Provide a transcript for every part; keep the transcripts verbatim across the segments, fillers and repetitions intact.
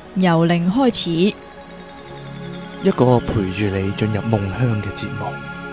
由零開始， 一個陪住你進入夢鄉嘅節目。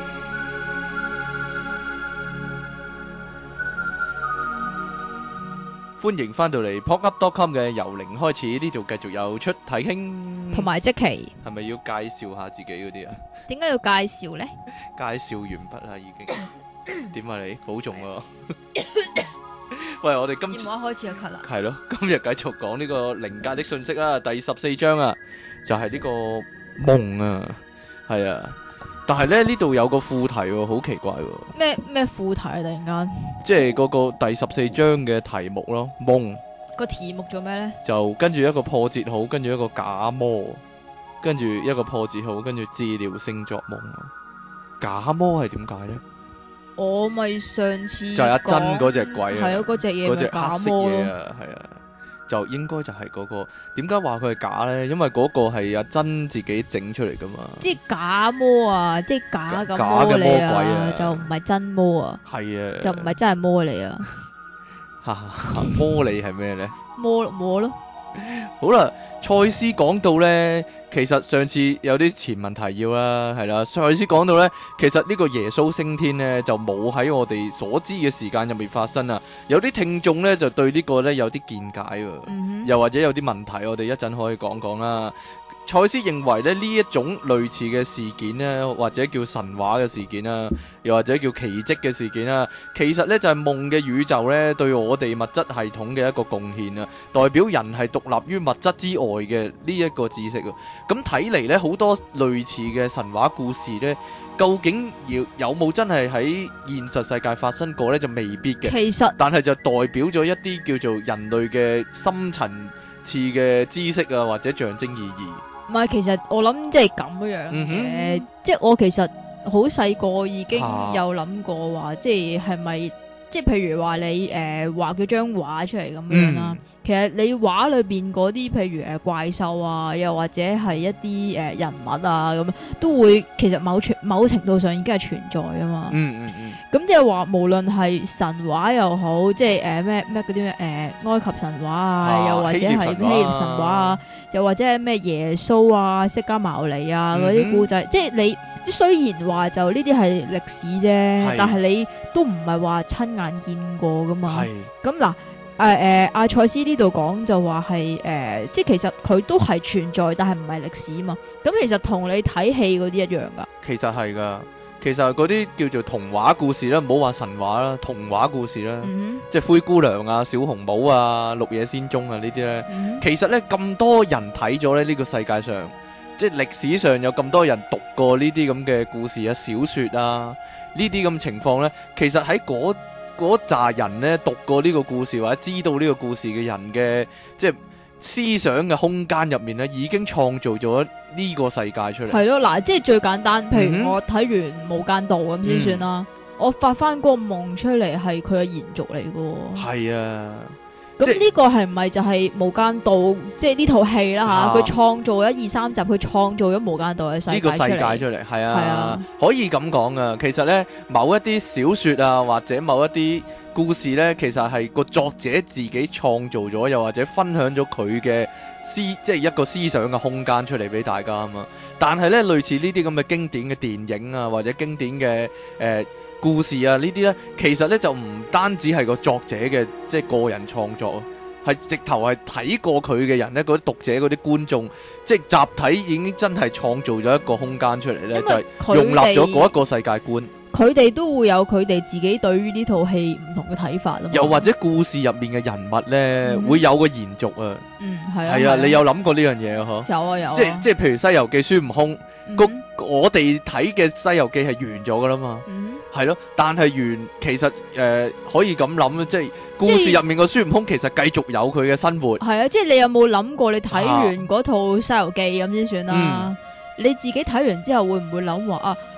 歡迎翻到嚟 pop up dot com 嘅由零開始，呢度繼續有出體傾， 同埋即期， 係咪要介紹下自己嗰啲啊？ 點解要介紹呢？ 介紹完畢啦，已經。點啊你？保重啊！喂，我哋今次節目一開始就咳啦。 係咯，今日繼續講呢個靈界的訊息啦，第十四章啊，就係呢個夢啊，係啊。但係咧呢度有個副題喎，好奇怪喎。 咩咩副題啊？突然間， 即係嗰個第十四章嘅題目咯，夢個題目做咩呢？ 就跟住一個破折號，跟住一個假魔，跟住一個破折號，跟住治療性作夢啊。假魔係點解呢？ 我咪上次就係阿珍嗰隻鬼啊， 係咯，嗰隻嘢嗰隻咪假黑色魔咯。 嘢啊，係啊，就應該就係嗰個。點解話佢係假呢？因為嗰個係阿珍自己整出嚟噶嘛。 即係假魔啊！即係假嘅假嘅魔魔嚟鬼啊就唔係真魔啊， 係啊， 就唔係真係魔嚟啊， 哈哈，魔你係咩呢？ 魔魔咯。 好啦，賽斯講到呢，其實上次有啲前文提要啦，係啦，賽斯講到呢，其實呢個耶穌升天呢，就冇喺我哋所知嘅時間入面發生啊。有啲聽眾呢，就對呢個呢有啲見解喎， 嗯哼， 又或者有啲問題，我哋一陣可以講講啦。賽斯認為咧，呢一種類似嘅事件呢，或者叫神話嘅事件啦，又或者叫奇蹟嘅事件啦，其實呢就係夢嘅宇宙呢對我哋物質系統嘅一個貢獻啊，代表人係獨立於物質之外嘅呢一個知識啊。咁睇嚟呢，好多類似嘅神話故事呢，究竟要有冇真係喺現實世界發生過呢？就未必嘅。 其實但係就代表咗一啲叫做人類嘅深層次嘅知識啊，或者象徵意義。 唔係，其實我諗即係咁樣嘅， 嗯哼即係我其實好細個已經啊有諗過話，即係係咪即係譬如話你誒畫咗張畫出嚟咁樣啦。 嗯其實你畫裏邊嗰啲譬如誒怪獸啊，又或者係一啲誒人物啊咁，都會其實某程某程度上已經係存在啊嘛。 嗯嗯嗯。 咁即係話，無論係神話又好，即係誒咩咩嗰啲咩誒埃及神話啊， 啊又或者係希臘神話啊，又或者係咩耶穌啊、釋迦牟尼啊嗰啲故仔，即係你即係雖然話就呢啲係歷史啫，但係你都唔係話親眼見過噶嘛。 係。 咁嗱。誒誒，阿賽斯呢度講就話係誒，即係其實佢都係存在，但係唔係歷史嘛。咁其實同你睇戲嗰啲一樣噶。 其實係噶，其實嗰啲叫做童話故事啦，唔好話神話啦，童話故事啦， 嗯、 即係灰姑娘啊、小紅帽啊、綠野仙蹤啊呢啲咧， 嗯、 其實咧咁多人睇咗咧呢個世界上，即係歷史上有咁多人讀過呢啲咁嘅故事啊、小説啊，呢啲咁情況咧，其實喺嗰嗰扎人咧讀過呢個故事或者知道呢個故事嘅人嘅即係思想嘅空間入面咧，已經創造咗呢個世界出嚟。 係咯，嗱，即係最簡單，譬嗯如我睇完《無間道》咁先算啦， 嗯、 我發翻個夢出嚟係佢嘅延續嚟嘅。 係啊， 咁呢個係唔係就係《無間道》即係呢套戲啦吓？佢創造咗二三集，佢創造咗《無間道》嘅世界呢個世界出嚟，係啊，啊可以咁講啊。其實呢，某一啲小說啊，或者某一啲故事呢，其實係個作者自己創造咗，又或者分享咗佢嘅思，即係一個思想嘅空間出嚟俾大家啊嘛。但係呢，類似呢啲咁嘅經典嘅電影啊，或者經典嘅誒。呃故事啊，呢啲呢，其實呢就唔單止係個作者嘅即係個人創作，係直頭係睇過佢嘅人呢，嗰啲讀者嗰啲觀眾，即係集體已經真係創造咗一個空間出嚟呢，就係容納咗嗰一個世界觀。 佢哋都會有佢哋自己對於呢套戲唔同嘅睇法啊嘛。 又或者故事入面嘅人物呢，嗯、會有個延續啊。 嗯，係啊。 係啊，你有諗過呢樣嘢啊？嗬。 有啊有啊。 即係即係譬如《西遊記》孫悟空， 嗯、 我哋睇嘅《西遊記》係完咗噶啦嘛。 嗯。 係咯，但係完其實誒、呃、可以咁諗，即係故事入面個孫悟空其實繼續有佢嘅生活。 係啊，即係你有冇諗過你睇完嗰套《西遊記》咁先算啦？嗯、你自己睇完之後會唔會諗話啊？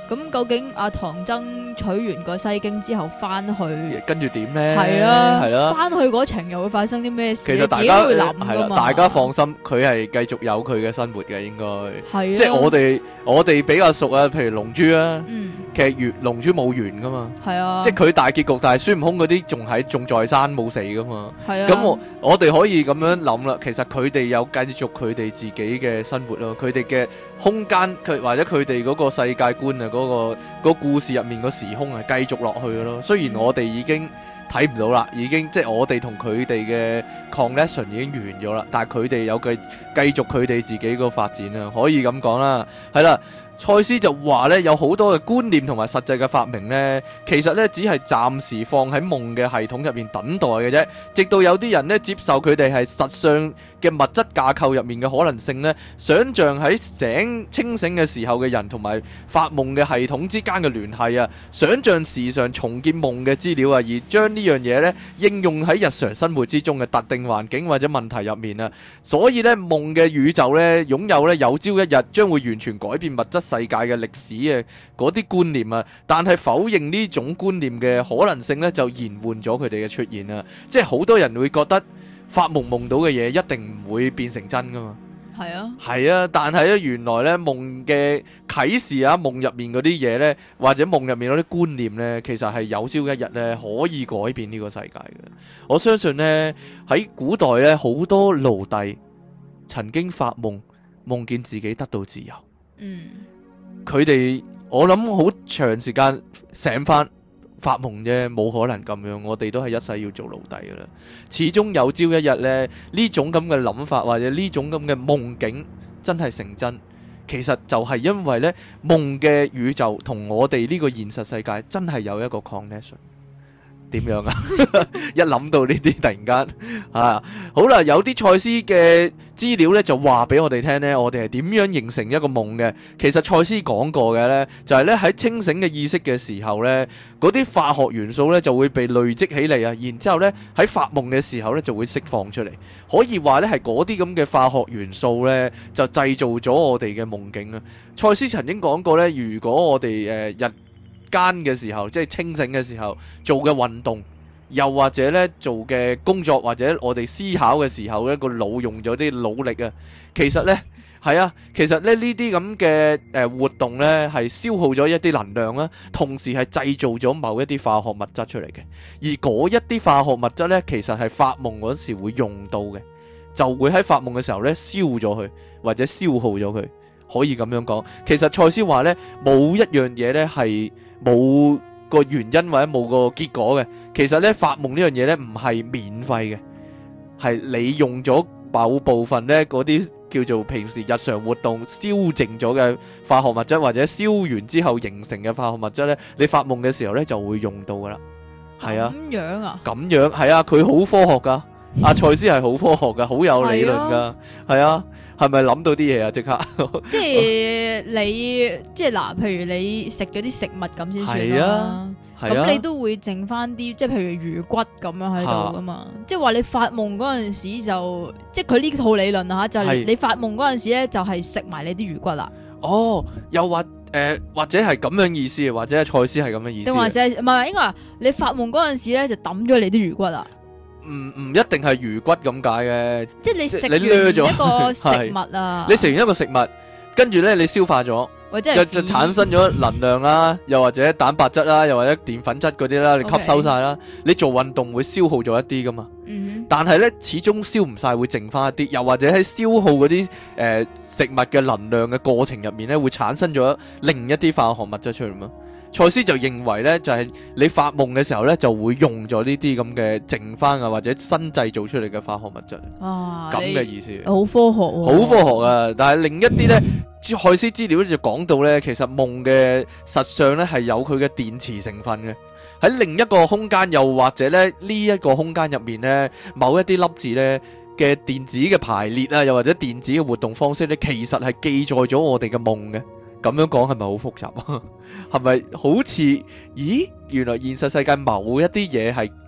咁究竟阿唐僧取完個西經之後翻去， 跟住點咧？ 係啦， 係啦， 翻去嗰程又會發生啲咩事？ 其實大家自己會諗㗎嘛。 大家放心，佢係繼續有佢嘅生活嘅，應該。 係啊。 即係我哋我哋比較熟啊，譬如龍珠啊， 嗯， 其實完龍珠冇完噶嘛。 係啊。 即係佢大結局，但係孫悟空嗰啲仲喺仲在山冇死噶嘛。 係啊。 咁我我哋可以咁樣諗啦，其實佢哋有繼續佢哋自己嘅生活咯，佢哋嘅空間佢或者佢哋嗰個世界觀啊，嗰、嗰個、嗰個故事入面個時空啊，繼續落去嘅咯。雖然我哋已經睇唔到啦，已經即係我哋同佢哋嘅 connection 已經完咗啦，但係佢哋有繼繼續佢哋自己個發展啊，可以咁講啦，係啦。賽斯就話咧，有好多嘅觀念同埋實際嘅發明咧，其實咧只係暫時放喺夢嘅系統入面等待嘅啫，直到有啲人咧接受佢哋係實相嘅物質架構入面嘅可能性咧，想像喺醒清醒嘅時候嘅人同埋發夢嘅系統之間嘅聯繫啊，想像時常重建夢嘅資料啊，而將呢樣嘢咧應用喺日常生活之中嘅特定環境或者問題入面啊，所以咧夢嘅宇宙咧擁有咧有朝一日將會完全改變物質世界嘅歷史嘅嗰啲觀念啊，但係否認呢種觀念嘅可能性呢，就延緩咗佢哋嘅出現啊！即係好多人會覺得發夢夢到嘅嘢一定唔會變成真噶嘛。 係啊， 係啊，但係咧原來呢夢嘅啟示啊，夢入面嗰啲嘢呢，或者夢入面嗰啲觀念呢，其實係有朝一日呢可以改變呢個世界嘅。我相信呢，喺古代呢，好多奴隸曾經發夢，夢見自己得到自由。 嗯。 佢哋我諗好長時間醒翻發夢啫，冇可能咁樣。我哋都係一世要做奴隸噶啦。始終有朝一日呢，呢種咁嘅諗法或者呢種咁嘅夢境真係成真，其實就係因為呢夢嘅宇宙同我哋呢個現實世界真係有一個 connection。點樣啊？一諗到呢啲，突然間啊，好啦，有啲賽斯嘅資料咧，就話俾我哋聽咧，我哋係點樣形成一個夢嘅？其實賽斯講過嘅咧，就係咧喺清醒嘅意識嘅時候咧，嗰啲化學元素咧就會被累積起嚟啊，然之後咧喺發夢嘅時候咧就會釋放出嚟。可以話咧係嗰啲咁嘅化學元素咧，就製造咗我哋嘅夢境啊。賽斯曾經講過咧，如果我哋誒、呃、日間嘅時候，即係清醒嘅時候做嘅運動，又或者咧做嘅工作，或者我哋思考嘅時候咧，個腦用咗啲腦力啊，其實咧係啊，其實咧呢啲咁嘅誒活動咧係消耗咗一啲能量啦，同時係製造咗某一啲化學物質出嚟嘅，而嗰一啲化學物質咧，其實係發夢嗰時會用到嘅，就會喺發夢嘅時候咧燒咗佢，或者消耗咗佢，可以咁樣講。其實賽斯話咧，冇一樣嘢咧係冇個原因或者冇個結果嘅，其實咧發夢呢樣嘢咧唔係免費嘅，係你用咗某部分咧嗰啲叫做平時日常活動燒淨咗嘅化學物質，或者燒完之後形成嘅化學物質咧，你發夢嘅時候咧就會用到噶啦。係啊， 咁樣啊？咁樣係啊，佢好科學噶，阿賽斯係好科學噶，好有理論噶，係啊。係咪諗到啲嘢啊？即刻即係你即係嗱，譬如你食咗啲食物咁先算啦。咁、啊、你都會剩翻啲，即係譬如魚骨咁樣喺度噶嘛。啊、即係話你發夢嗰陣時就，即係佢呢套理論吓，就係、是、你發夢嗰陣時咧，就係食埋你啲魚骨啦。 哦，又或誒、呃，或者係咁樣意思，或者係賽斯係咁樣意思。定還是唔係？應該話你發夢嗰陣時咧，就抌咗你啲魚骨啦。唔唔一定係魚骨咁解嘅， 即係你食完一個食物啊， 你食完一個食物，跟住咧你消化咗， 或者就就產生咗能量啦，又或者蛋白質啦，又或者澱粉質嗰啲啦，你吸收晒啦。Okay. 你做運動會消耗咗一啲噶嘛，嗯、哼但係咧始終消唔晒，會剩翻一啲，又或者喺消耗嗰啲誒食物嘅能量嘅過程入面咧，會產生咗另一啲化學物質出嚟嘛。賽斯就認為咧，就係、是、你發夢嘅時候咧，就會用咗呢啲咁嘅剩翻啊，或者新製造出嚟嘅化學物質。啊，咁嘅意思。好科學、哦， 好科學啊！但係另一啲咧，賽斯資料咧就講到咧，其實夢嘅實相咧係有佢嘅電磁成分嘅。喺另一個空間，又或者咧呢一、這個空間入面咧，某一啲粒子咧嘅電子嘅排列啊，又或者電子嘅活動方式咧，其實係記載咗我哋嘅夢嘅。咁樣講係咪好複雜啊？係咪好似咦？原來現實世界某一啲嘢係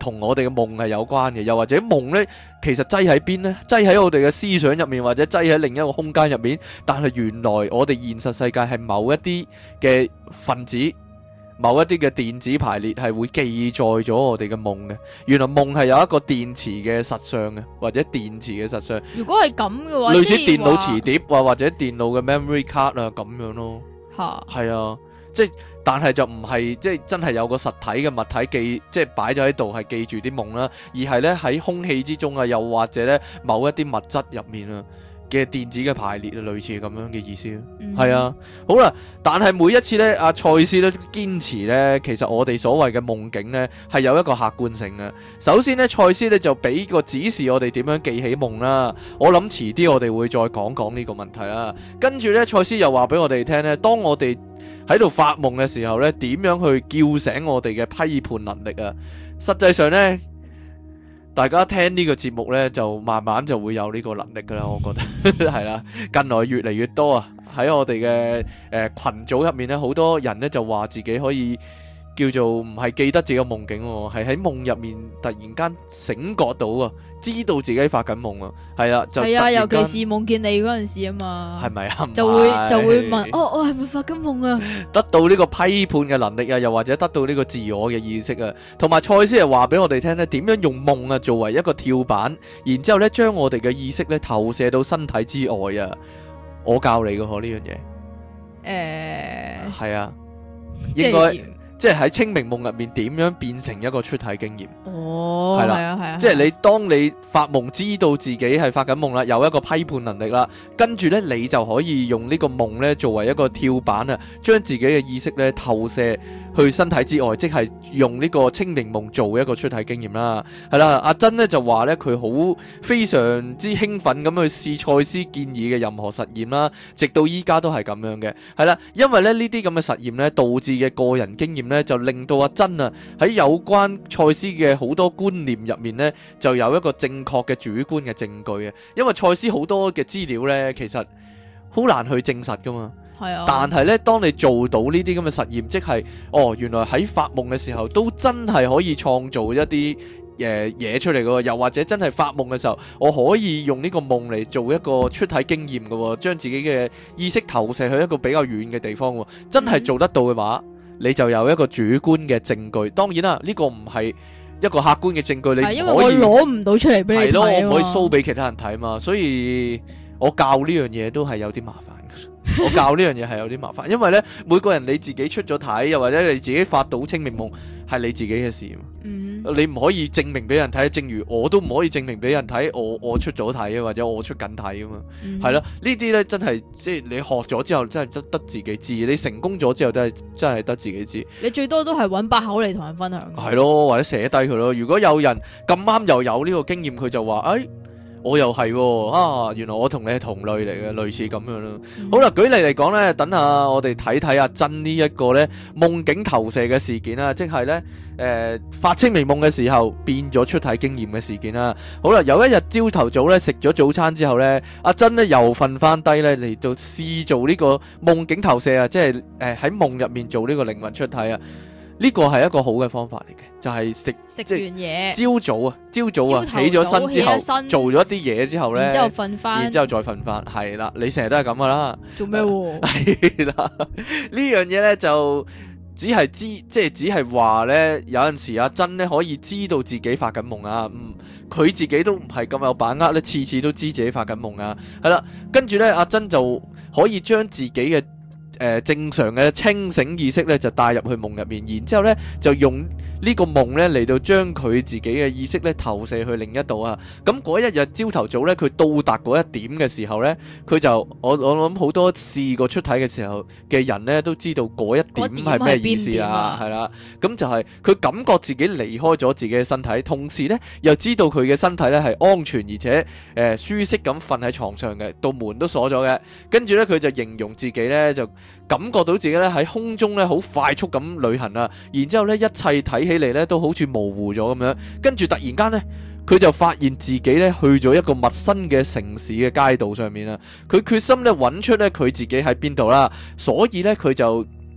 同我哋嘅夢係有關嘅，又或者夢呢，其實擠喺邊呢？擠喺我哋嘅思想入面，或者擠喺另一個空間入面。但係原來我哋現實世界係某一啲嘅分子，某一啲嘅電子排列係會記載咗我哋嘅夢嘅。原來夢係有一個電池嘅實相嘅，或者電池嘅實相。 如果係咁嘅話， 類似電腦磁碟啊，或者電腦嘅 memory card 啊咁樣咯。 嚇， 係啊，即係但係就唔係即係真係有個實體嘅物體記，即係擺咗喺度係記住啲夢啦，而係咧喺空氣之中啊，又或者咧某一啲物質入面啊嘅電子嘅排列啊，類似咁樣嘅意思咯。係、嗯、啊，好啦，但係每一次咧，阿賽斯咧堅持咧，其實我哋所謂嘅夢境咧係有一個客觀性嘅。首先咧，賽斯咧就俾個指示我哋點樣記起夢啦。我諗遲啲我哋會再講講呢個問題啦。跟住咧，賽斯又話俾我哋聽咧，當我哋喺度發夢嘅時候咧，點樣去叫醒我哋嘅批判能力啊？實際上咧，大家聽呢個節目呢，就慢慢就會有呢個能力噶啦，我覺得係啦。近來越嚟越多啊，喺我哋嘅誒群組入面呢，好多人呢就話自己可以叫做唔係記得自己嘅夢境，係喺夢入面突然間醒覺到啊，知道自己發緊夢啊，係啦，就係啊， 尤其是夢見你嗰陣時啊嘛， 係咪啊？ 就會就會問，哦，我係咪發緊夢啊？ 得到呢個批判嘅能力啊，又或者得到呢個自我嘅意識啊，同埋賽斯係話俾我哋聽咧，點樣用夢啊作為一個跳板，然之後咧將我哋嘅意識咧投射到身體之外啊，我教你嘅嗬呢樣嘢，誒、呃，係啊，應該。即係喺清明夢入面點樣變成一個出體經驗？ 哦，係啦，係啊，係啊。 即係你當你發夢知道自己係發緊夢啦，有一個批判能力啦，跟住呢，你就可以用呢個夢呢作為一個跳板啊，將自己嘅意識呢投射去身體之外，即係用呢個清明夢做一個出體經驗啦。係啦，阿珍呢就話呢，佢好非常之興奮咁去試賽斯建議嘅任何實驗啦，直到依家都係咁樣嘅。係啦，因為咧呢啲咁嘅實驗呢導致嘅個人經驗咧就令到阿珍啊喺有關賽斯嘅好多觀念入面咧就有一個正確嘅主觀嘅證據啊，因為賽斯好多嘅資料咧其實好難去證實噶嘛，係啊，但係咧當你做到呢啲咁嘅實驗，即係哦原來喺發夢嘅時候都真係可以創造一啲誒嘢出嚟噶，又或者真係發夢嘅時候我可以用呢個夢嚟做一個出體經驗噶，將自己嘅意識投射去一個比較遠嘅地方，真係做得到嘅話，嗯，你就有一個主觀嘅證據。當然啦，呢個唔係一個客觀嘅證據，你唔可以，因為我攞唔到出嚟俾你睇，係咯， 我唔可以 show 俾其他人睇嘛，所以我教呢樣嘢都係有啲麻煩。我教呢樣嘢係有啲麻煩，因為咧每個人你自己出咗體，又或者你自己發到清明夢，係你自己嘅事。嗯，你唔可以證明俾人睇，正如我都唔可以證明俾人睇，我我出咗體啊，或者我出緊體啊嘛。係咯，呢啲咧真係即係你學咗之後，真係得得自己知。你成功咗之後，都係真係得自己知。你最多都係揾把口嚟同人分享。係咯，或者寫低佢咯。如果有人咁啱又有呢個經驗，佢就話，哎。我又係喎，啊，原來我同你係同類嚟嘅，類似咁樣咯。嗯、好啦，舉例嚟講咧，等下我哋睇睇阿珍呢一個咧夢境投射嘅事件啦，即係咧誒發清明夢嘅時候變咗出體經驗嘅事件啦。好啦，有一日朝頭早咧食咗早餐之後咧，阿珍咧又瞓翻低咧嚟到試做呢個夢境投射啊，即係誒喺夢入面做呢個靈魂出體啊。呢個係一個好嘅方法嚟嘅，就係食食完嘢，朝早啊，朝早啊，起咗身之後，做咗一啲嘢之後咧，然之後瞓翻，然之後再瞓翻，係啦，你成日都係咁噶啦。做咩？係啦，呢樣嘢咧就只係知，即係只係話咧，有陣時阿珍咧可以知道自己發緊夢啊，嗯，佢自己都唔係咁有把握咧，次次都知自己發緊夢啊，係啦，跟住咧阿珍就可以將自己嘅。誒、呃、正常嘅清醒意識咧就帶入去夢入面，然之後咧就用呢個夢咧嚟到將佢自己嘅意識咧投射去另一度啊！咁嗰一日朝頭早咧，佢到達嗰一點嘅時候咧，佢就我我諗好多試過出體嘅時候嘅人咧都知道嗰一點係咩意思啊？係啦，咁就係佢感覺自己離開咗自己嘅身體，同時咧又知道佢嘅身體咧係安全而且誒、呃、舒適咁瞓喺床上嘅，道門都鎖咗嘅。跟住咧佢就形容自己咧就感覺到自己咧喺空中咧好快速咁旅行啊，然之後咧一切睇起嚟咧都好似模糊咗咁樣，跟住突然間咧佢就發現自己咧去咗一個陌生嘅城市嘅街道上面啊，佢決心咧揾出咧佢自己喺邊度啦，所以咧佢就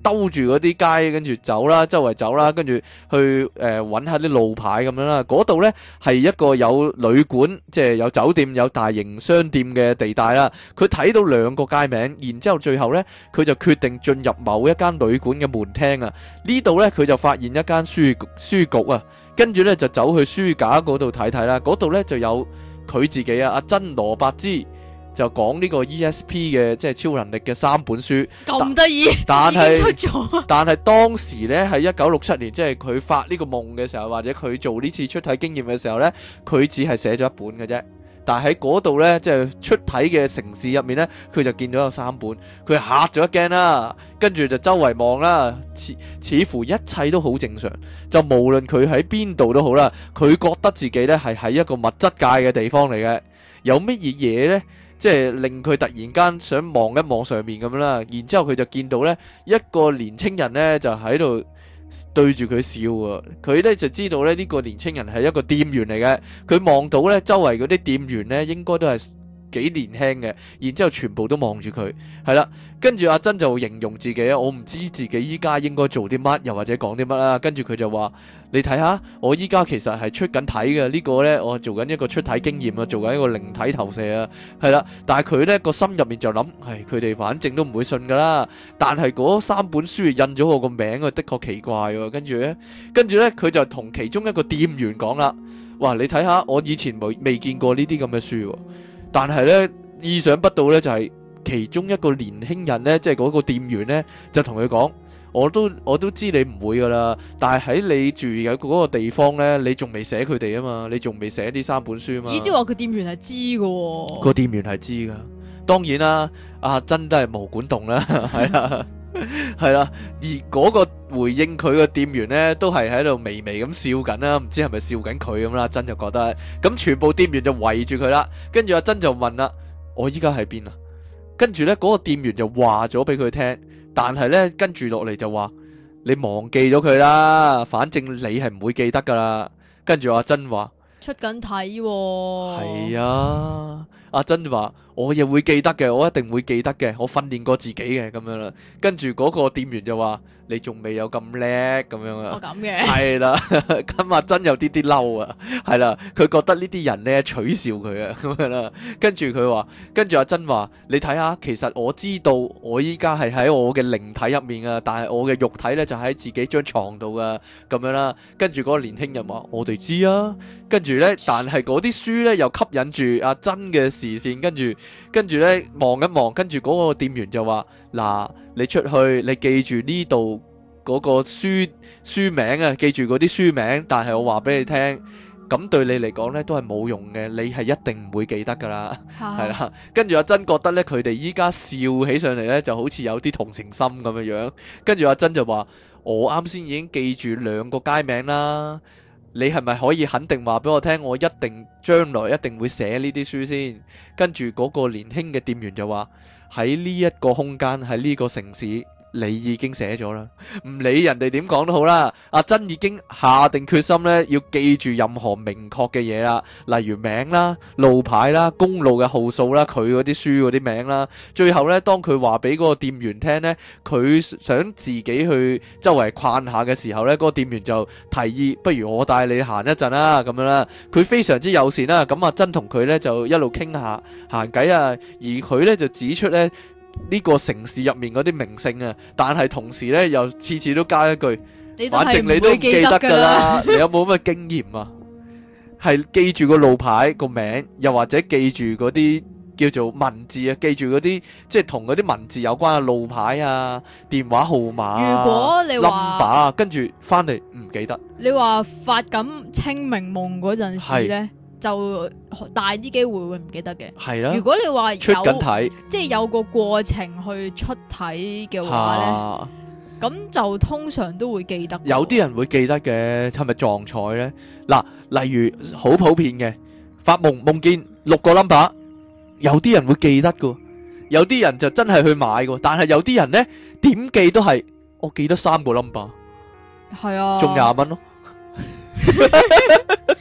兜住嗰啲街，跟住走啦，周圍走啦，跟住去誒揾下啲路牌咁樣啦。嗰度呢係一個有旅館，即係有酒店、有大型商店嘅地帶啦。佢睇到兩個街名，然之後最後呢，佢就決定進入某一間旅館嘅門廳啊。呢度呢，佢就發現一間書書局啊，跟住呢，就走去書架嗰度睇睇啦。嗰度呢，就有佢自己啊，阿珍羅伯茲。就講呢個 E S P 嘅即係超能力嘅三本書， 咁得意， 但係出咗。 但係當時咧喺一九六七年，即係佢發呢個夢嘅時候，或者佢做呢次出體經驗嘅時候咧，佢只係寫咗一本嘅啫。但係喺嗰度咧，即係出體嘅城市入面咧，佢就見到有三本，佢嚇咗一驚啦，跟住就周圍望啦，似似乎一切都好正常，就無論佢喺邊度都好啦，佢覺得自己咧係喺一個物質界嘅地方嚟嘅，有乜嘢嘢咧？即係令佢突然間想望一望上面咁樣啦，然之後佢就見到呢一個年青人呢，就喺度對住佢笑啊！佢呢就知道呢呢個年青人係一個店員嚟嘅，佢望到呢周圍嗰啲店員呢應該都係幾年輕嘅，然之後全部都望住佢，係啦，跟住阿珍就形容自己啊，我唔知自己依家應該做啲乜，又或者講啲乜啦，跟住佢就話：你睇下，我依家其實係出緊體嘅，呢個呢，我做緊一個出體經驗啊，做緊一個靈體投射啊，係啦，但係佢呢個心入面就諗，係佢哋反正都唔會信噶啦，但係嗰三本書印咗我個名啊，的確奇怪喎，跟住呢，跟住呢，佢就同其中一個店員講啦，哇，你睇下，我以前未未見過呢啲咁嘅書喎。但係咧，意想不到咧，就係、是、其中一個年輕人咧，即係嗰個店員咧，就同佢講：我都我都知你唔會噶啦，但係喺你住嘅嗰個地方咧，你仲未寫佢哋啊嘛，你仲未寫呢三本書啊嘛。 咦？即係話佢店員係知嘅喎。 個店員係知噶，當然啦，阿珍都係毛管動啦，係啦。係啦，而嗰個回應佢個店員呢，都係喺度微微咁笑緊啦，唔知係咪笑緊佢咁啦。阿珍就覺得，咁全部店員就圍住佢啦。跟住阿珍就問啦：我依家喺邊啊？跟住呢嗰個店員就話咗俾佢聽，但係呢，跟住落嚟就話：你忘記咗佢啦，反正你係唔會記得噶啦。跟住阿珍話： 出緊體喎。 係啊。阿珍話：我亦會記得嘅，我一定會記得嘅，我訓練過自己嘅咁樣啦。跟住嗰個店員就話：你仲未有咁叻咁樣啊？ 哦，咁嘅。 係啦，咁阿珍有啲啲嬲啊，係啦，佢覺得呢啲人咧取笑佢啊咁樣啦。跟住佢話，跟住阿珍話：你睇下，其實我知道我依家係喺我嘅靈體入面啊，但係我嘅肉體咧就喺自己張床度噶咁樣啦。跟住嗰個年輕人話：我哋知啊。跟住咧，但係嗰啲書咧又吸引住阿珍嘅視線，跟住跟住咧望一望，跟住嗰個店員就話：嗱，你出去，你記住呢度嗰個書書名啊，記住嗰啲書名。但係我話俾你聽，咁對你嚟講咧都係冇用嘅，你係一定唔會記得噶啦，係啦。跟住阿珍覺得咧，佢哋依家笑起上嚟咧，就好似有啲同情心咁樣樣。跟住阿珍就話：我啱先已經記住兩個街名啦。你係咪可以肯定話俾我聽，我一定將來一定會寫呢啲書先？跟住嗰個年輕嘅店員就話：喺呢一個空間，喺呢個城市，你已經寫咗啦，唔理人哋點講都好啦。阿珍已經下定決心咧，要記住任何明確嘅嘢啦，例如名啦、路牌啦、公路嘅號數啦、佢嗰啲書嗰啲名啦。最後咧，當佢話俾嗰個店員聽咧，佢想自己去周圍逛下嘅時候咧，嗰個店員就提議：不如我帶你行一陣啦，咁樣啦。佢非常之友善啦，咁阿珍同佢咧就一路傾下閒偈啊，而佢咧就指出咧。呢個城市入面嗰啲名勝啊，但係同時咧又次次都加一句，反正你都唔記得噶啦。你有冇乜經驗啊？係記住個路牌個名，又或者記住嗰啲叫做文字啊，記住嗰啲即係同嗰啲文字有關嘅路牌啊、電話號碼啊、 如果你話 number 啊，跟住翻嚟唔記得。 你話發緊清明夢嗰陣時咧？就大啲機會會唔記得嘅。係啦。如果你話出緊體，即係有個過程去出體嘅話咧，咁、啊、就通常都會記得。有啲人會記得嘅，係咪撞彩咧？嗱，例如好普遍嘅發夢夢見六個 number， 有啲人會記得噶，有啲人就真係去買噶，但係有啲人咧點記都係我記得三個 number， 係啊，中廿蚊咯。嗱，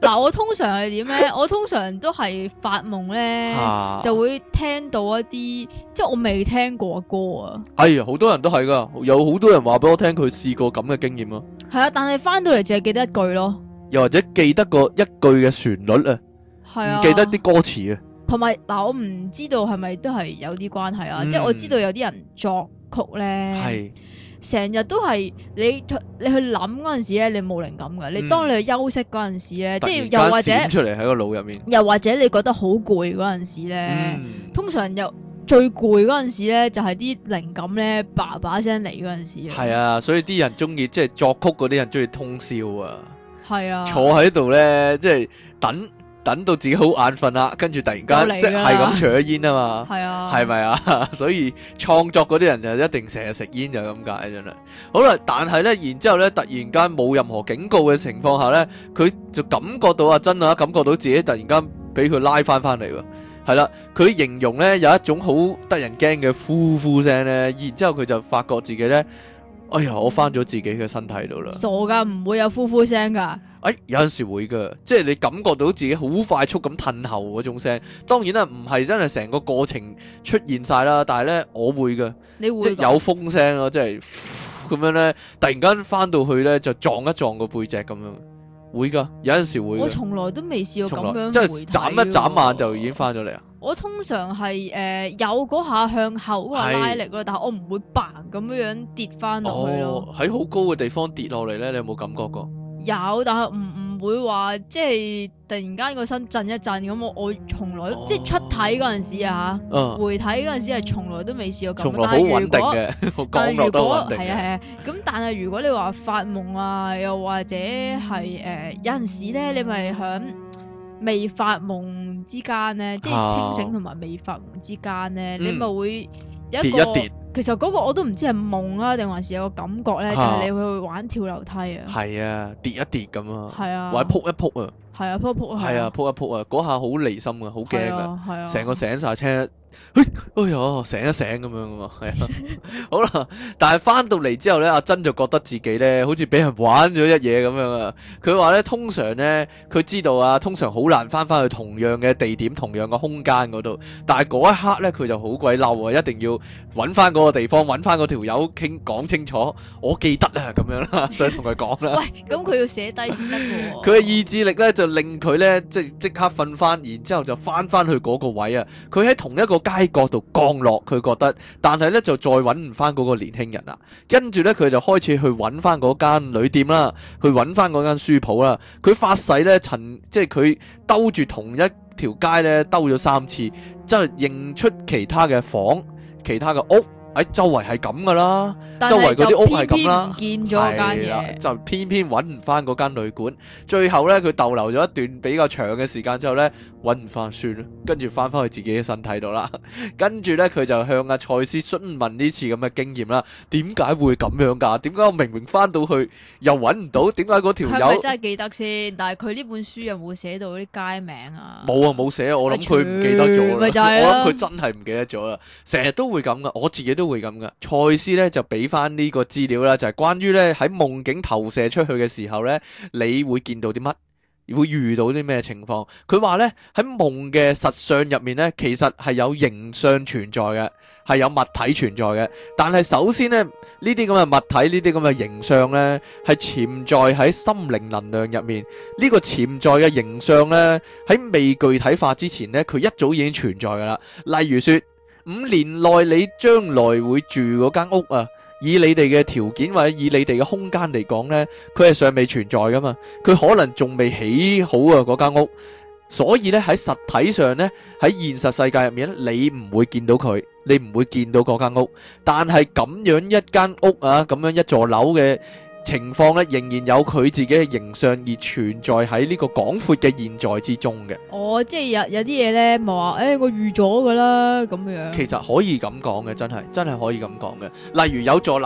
嗱，我通常係點咧？我通常都係發夢咧， 啊就會聽到一啲即係我未聽過嘅歌啊。 哎呀，好多人都係噶，有好多人話俾我聽佢試過咁嘅經驗咯。 係啊，但係翻到嚟淨係記得一句咯。 又或者記得個一句嘅旋律啊， 係啊， 唔記得啲歌詞啊。 同埋嗱，我唔知道係咪都係有啲關係啊？ 嗯即係我知道有啲人作曲咧， 係成日都係你你去諗嗰陣時咧，你冇靈感㗎。你當你去休息嗰陣時咧，即係又或者閃出嚟喺個腦入面， 又或者你覺得好攰嗰陣時咧， 嗯通常又最攰嗰陣時咧，就係啲靈感咧叭叭聲嚟嗰陣時。 係啊，所以啲人中意即係作曲嗰啲人中意通宵啊， 係啊， 坐喺度咧，即係等等到自己好眼瞓啦，跟住突然間即係係咁除咗煙啊嘛， 係啊， 係咪啊？所以創作嗰啲人就一定成日食煙就咁解真係。好啦，但係咧，然之後咧，突然間冇任何警告嘅情況下咧，佢就感覺到阿珍啊，感覺到自己突然間俾佢拉翻翻嚟喎。係啦，佢形容咧有一種好得人驚嘅呼呼聲咧，然之後佢就發覺自己咧，哎呀，我翻咗自己嘅身體度啦。 傻噶，唔會有呼呼聲噶。 哎，有陣時會噶，即係你感覺到自己好快速咁褪後嗰種聲。當然啦，唔係真係成個過程出現晒啦，但係咧我會噶， 你會即係有風聲咯，即係咁樣咧，突然間翻到去咧就撞一撞個背脊咁樣。會噶，有陣時會。 我從來都未試過咁樣， 即係眨一眨眼就已經翻咗嚟啊！ 我通常係誒、呃、有嗰下向後嗰個拉力咯，但係我唔會嘭咁樣樣跌翻落去咯。 喺好、哦、高嘅地方跌落嚟咧，你有冇感覺過？ 有，但係唔唔會話即係突然間個身震一震咁。我我從來、哦、即係出體嗰陣時啊嚇，嗯、回體嗰陣時係從來都未試過咁。從來好穩定嘅， 降落都穩定嘅。 係啊係啊，咁但係如果你話發夢啊，又或者係誒、呃、有陣時咧，你咪響未發夢之間咧，即係清醒同埋未發夢之間咧，啊、你咪會有一個。跌一跌其實嗰個我都唔知係夢啊，定還是有個感覺咧，啊、就係你會玩跳樓梯啊。係啊，跌一跌咁啊。係啊。或者撲一撲啊。係啊，撲一撲啊。係啊，撲一撲啊，嗰下好離心啊，好驚啊。係啊。成個醒晒車。哎呀，醒一醒咁樣啊嘛，係啊，好啦，但係翻到嚟之後咧，阿珍就覺得自己咧好似俾人玩咗一嘢咁樣啊。佢話咧，通常咧，佢知道啊，通常好難翻翻去同樣嘅地點、同樣嘅空間嗰度。但係嗰一刻咧，佢就好鬼嬲啊，一定要揾翻嗰個地方，揾翻嗰條友傾講清楚。我記得啊，咁樣啦，想同佢講啦。 喂，咁佢要寫低先得喎。 佢嘅意志力咧就令佢咧即即刻瞓翻，然之後就翻翻去嗰個位啊。佢喺同一個街角度降落，佢覺得，但係咧就再揾唔翻嗰個年輕人啦。跟住咧佢就開始去揾翻嗰間旅店啦，去揾翻嗰間書鋪啦。佢發誓咧，曾即係佢兜住同一條街咧兜咗三次，即係認出其他嘅房、其他嘅屋。喺周圍係咁噶啦，周圍嗰啲屋係咁啦， 偏偏唔見咗間嘢， 就偏偏揾唔翻嗰間旅館。最後咧，佢逗留咗一段比較長嘅時間之後咧，揾唔翻算啦，跟住翻翻去自己嘅身體度啦。跟住咧，佢就向阿賽斯詢問呢次咁嘅經驗啦。點解會咁樣噶？點解我明明翻到去又揾唔到？點解嗰條友係咪真係記得先？但係佢呢本書有冇寫到啲街名啊？ 冇啊，冇寫。我諗佢唔記得咗啦。 就係、 我諗佢真係唔記得咗啦。成日都會咁噶，我自己都會咁噶。賽斯咧就俾翻呢個資料啦，就係、是、關於咧喺夢境投射出去嘅時候咧，你會見到啲乜，會遇到啲咩情況？佢話咧喺夢嘅實相入面咧，其實係有形相存在嘅，係有物體存在嘅。但係首先咧，呢啲咁嘅物體，呢啲咁嘅形相咧，係潛在喺心靈能量入面。呢、這個潛在嘅形相咧，喺未具體化之前咧，佢一早已經存在噶啦。例如說，五年內你將來會住嗰間屋啊，以你哋嘅條件或者以你哋嘅空間嚟講呢，佢係尚未存在噶嘛，佢可能仲未起好啊嗰間屋，所以呢，喺實體上呢，喺現實世界入面咧，你唔會見到佢，你唔會見到嗰間屋，但係咁樣一間屋啊，咁樣一座樓嘅情況咧，仍然有佢自己嘅形象而存在喺呢個廣闊嘅現在之中嘅。 哦，即係有有啲嘢咧，咪話誒，我預咗噶啦咁樣。 其實可以咁講嘅，真係真係可以咁講嘅。例如有座樓，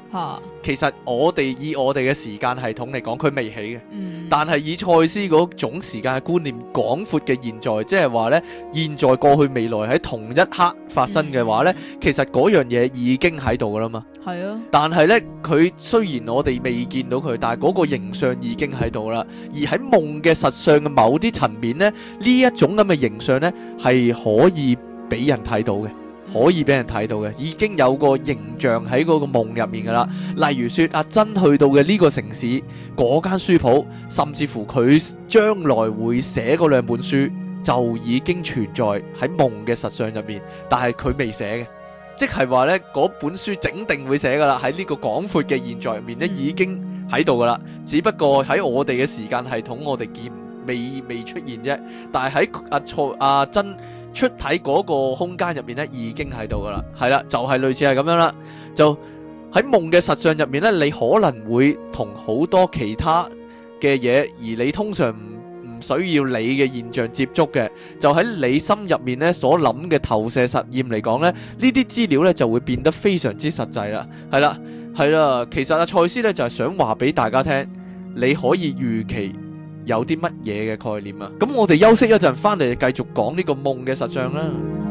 嚇， 其實我哋以我哋嘅時間系統嚟講，佢未起嘅。 嗯， 但係以賽斯嗰種時間嘅觀念廣闊嘅現在，即係話呢，現在、過去、未來喺同一刻發生嘅話呢， 嗯、 其實嗰樣嘢已經喺度噶啦嘛。 係啊。 但係呢，佢雖然我哋未見到佢，但係嗰個形象已經喺度啦。而喺夢嘅實相嘅某啲層面呢，呢一種咁嘅形象呢，係可以俾人睇到嘅。可以俾人睇到嘅，已經有個形象喺嗰個夢入面噶啦。例如說阿珍去到嘅呢個城市，嗰間書鋪，甚至乎佢將來會寫嗰兩本書，就已經存在喺夢嘅實相入面。但係佢未寫嘅，即係話呢，嗰本書整定會寫噶啦。喺呢個廣闊嘅現在入面呢，已經喺度噶啦。只不過喺我哋嘅時間系統，我哋見未未出現啫。但係喺阿錯阿珍出體嗰個空間入面咧，已經喺度噶啦，係啦，就係類似係咁樣啦。就喺夢嘅實相入面咧，你可能會同好多其他嘅嘢，而你通常唔唔需要你嘅現象接觸嘅，就喺你心入面咧所諗嘅投射實驗嚟講咧，呢啲資料咧就會變得非常之實際啦。係啦，係啦，其實阿賽斯咧就係想話俾大家聽，你可以預期有啲乜嘢嘅概念啊？咁我哋休息一陣，翻嚟繼續講呢個夢嘅實相啦。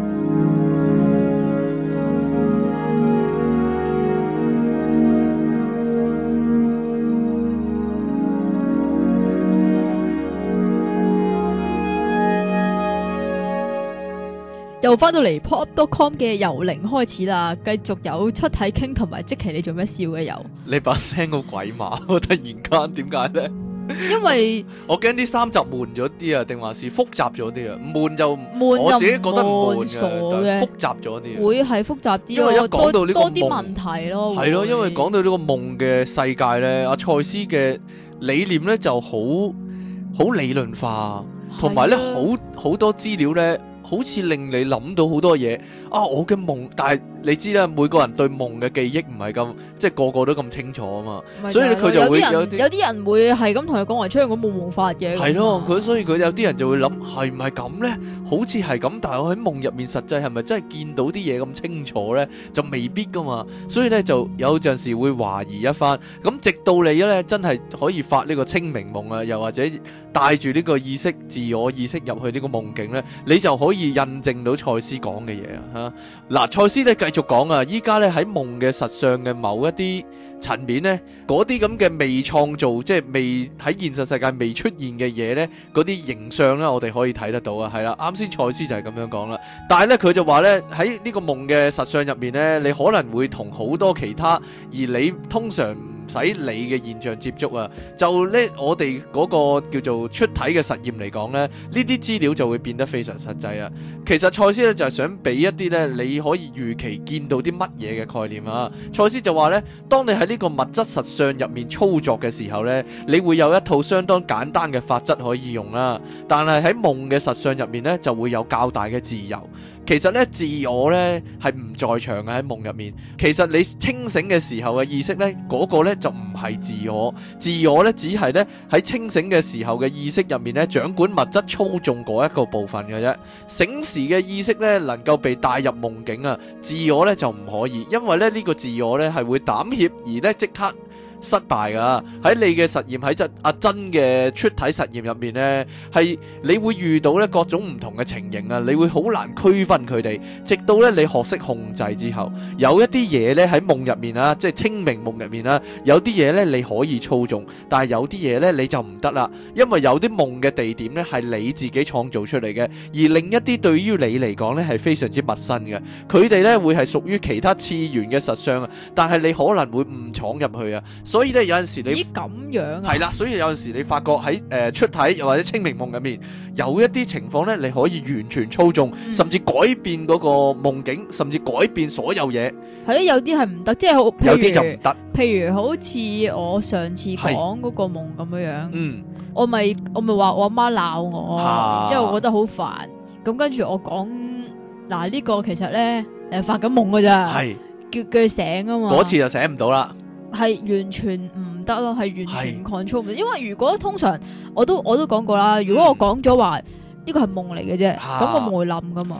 又翻到嚟 pop dot com 嘅由零開始啦，繼續有出體傾同埋即期，你做咩笑嘅又？ 你把聲好鬼馬，突然間點解咧？ 因為我驚啲三集悶咗啲啊，定還是複雜咗啲啊？悶就悶， 我自己覺得唔悶傻嘅， 嘅複雜咗啲。 會係複雜啲， 因為一講到呢個多啲問題咯。 係咯，因為講到呢個夢嘅世界咧，阿賽斯嘅理念咧就好好理論化，同埋咧好好多資料咧。好似令你諗到好多嘢啊！我嘅夢，但係你知啦，每個人對夢嘅記憶唔係咁，即係個個都咁清楚啊嘛。所以佢就會有啲有啲人會係咁同佢講話出去我冇夢法嘅。 係咯，佢所以佢有啲人就會諗係唔係咁咧？好似係咁，但係我喺夢入面實際係咪真係見到啲嘢咁清楚咧？就未必噶嘛。所以咧就有陣時會懷疑一番。咁直到你咧真係可以發呢個清明夢啊，又或者帶住呢個意識、自我意識入去呢個夢境咧，你就可以印證到賽斯講嘅嘢啊！嗱，賽斯咧繼續講啊，依家咧喺夢嘅實相嘅某一啲層面咧，嗰啲咁嘅未創造，即係未喺現實世界未出現嘅嘢咧，嗰啲形象咧，我哋可以睇得到啊！係啦，啱先賽斯就係咁樣講啦。但係咧，佢就話咧喺呢個夢嘅實相入面咧，你可能會同好多其他，而你通常唔使你嘅現象接觸啊。就咧，我哋嗰個叫做出體嘅實驗嚟講咧，呢啲資料就會變得非常實際啊。其實賽斯咧就係想俾一啲咧，你可以預期見到啲乜嘢嘅概念啊。賽斯就話咧，當你喺呢個物質實相入面操作嘅時候咧，你會有一套相當簡單嘅法則可以用啦。但係喺夢嘅實相入面咧，就會有較大嘅自由。其實咧，自我咧係唔在場嘅喺夢入面。其實你清醒嘅時候嘅意識咧，嗰個咧就唔係自我。自我咧只係咧喺清醒嘅時候嘅意識入面咧，掌管物質操縱嗰一個部分嘅啫。醒時嘅意識咧能夠被帶入夢境啊，自我咧就唔可以，因為咧呢個自我咧係會膽怯而咧即刻失敗噶。喺你嘅實驗，喺真阿珍嘅出體實驗入面呢，係你會遇到咧各種唔同嘅情形啊，你會好難區分佢哋，直到咧你學識控制之後，有一啲嘢咧喺夢入面啊，即係清明夢入面啦，有啲嘢咧你可以操縱，但係有啲嘢咧你就唔得啦，因為有啲夢嘅地點咧係你自己創造出嚟嘅，而另一啲對於你嚟講咧係非常之陌生嘅，佢哋咧會係屬於其他次元嘅實相啊，但係你可能會誤闖入去啊。所以咧有陣時你咦咁樣啊？ 係啦，所以有陣時你發覺喺誒、呃、出體又或者清明夢入面有一啲情況咧，你可以完全操縱，嗯、甚至改變嗰個夢境，甚至改變所有嘢。 係咯，有啲係唔得，即係好， 有啲就唔得。 譬如好似我上次講嗰個夢咁樣樣， 嗯， 我咪我咪話我阿媽鬧我， 啊、 之後我覺得好煩，咁跟住我講嗱呢個其實咧誒發緊夢㗎咋，係叫叫佢醒啊嘛， 嗰次就醒唔到啦。 係完全唔得咯，係完全 control 唔到，因為如果通常我都我都講過啦，如果我講咗話呢個係夢嚟嘅啫，咁、啊、我唔會冧噶嘛。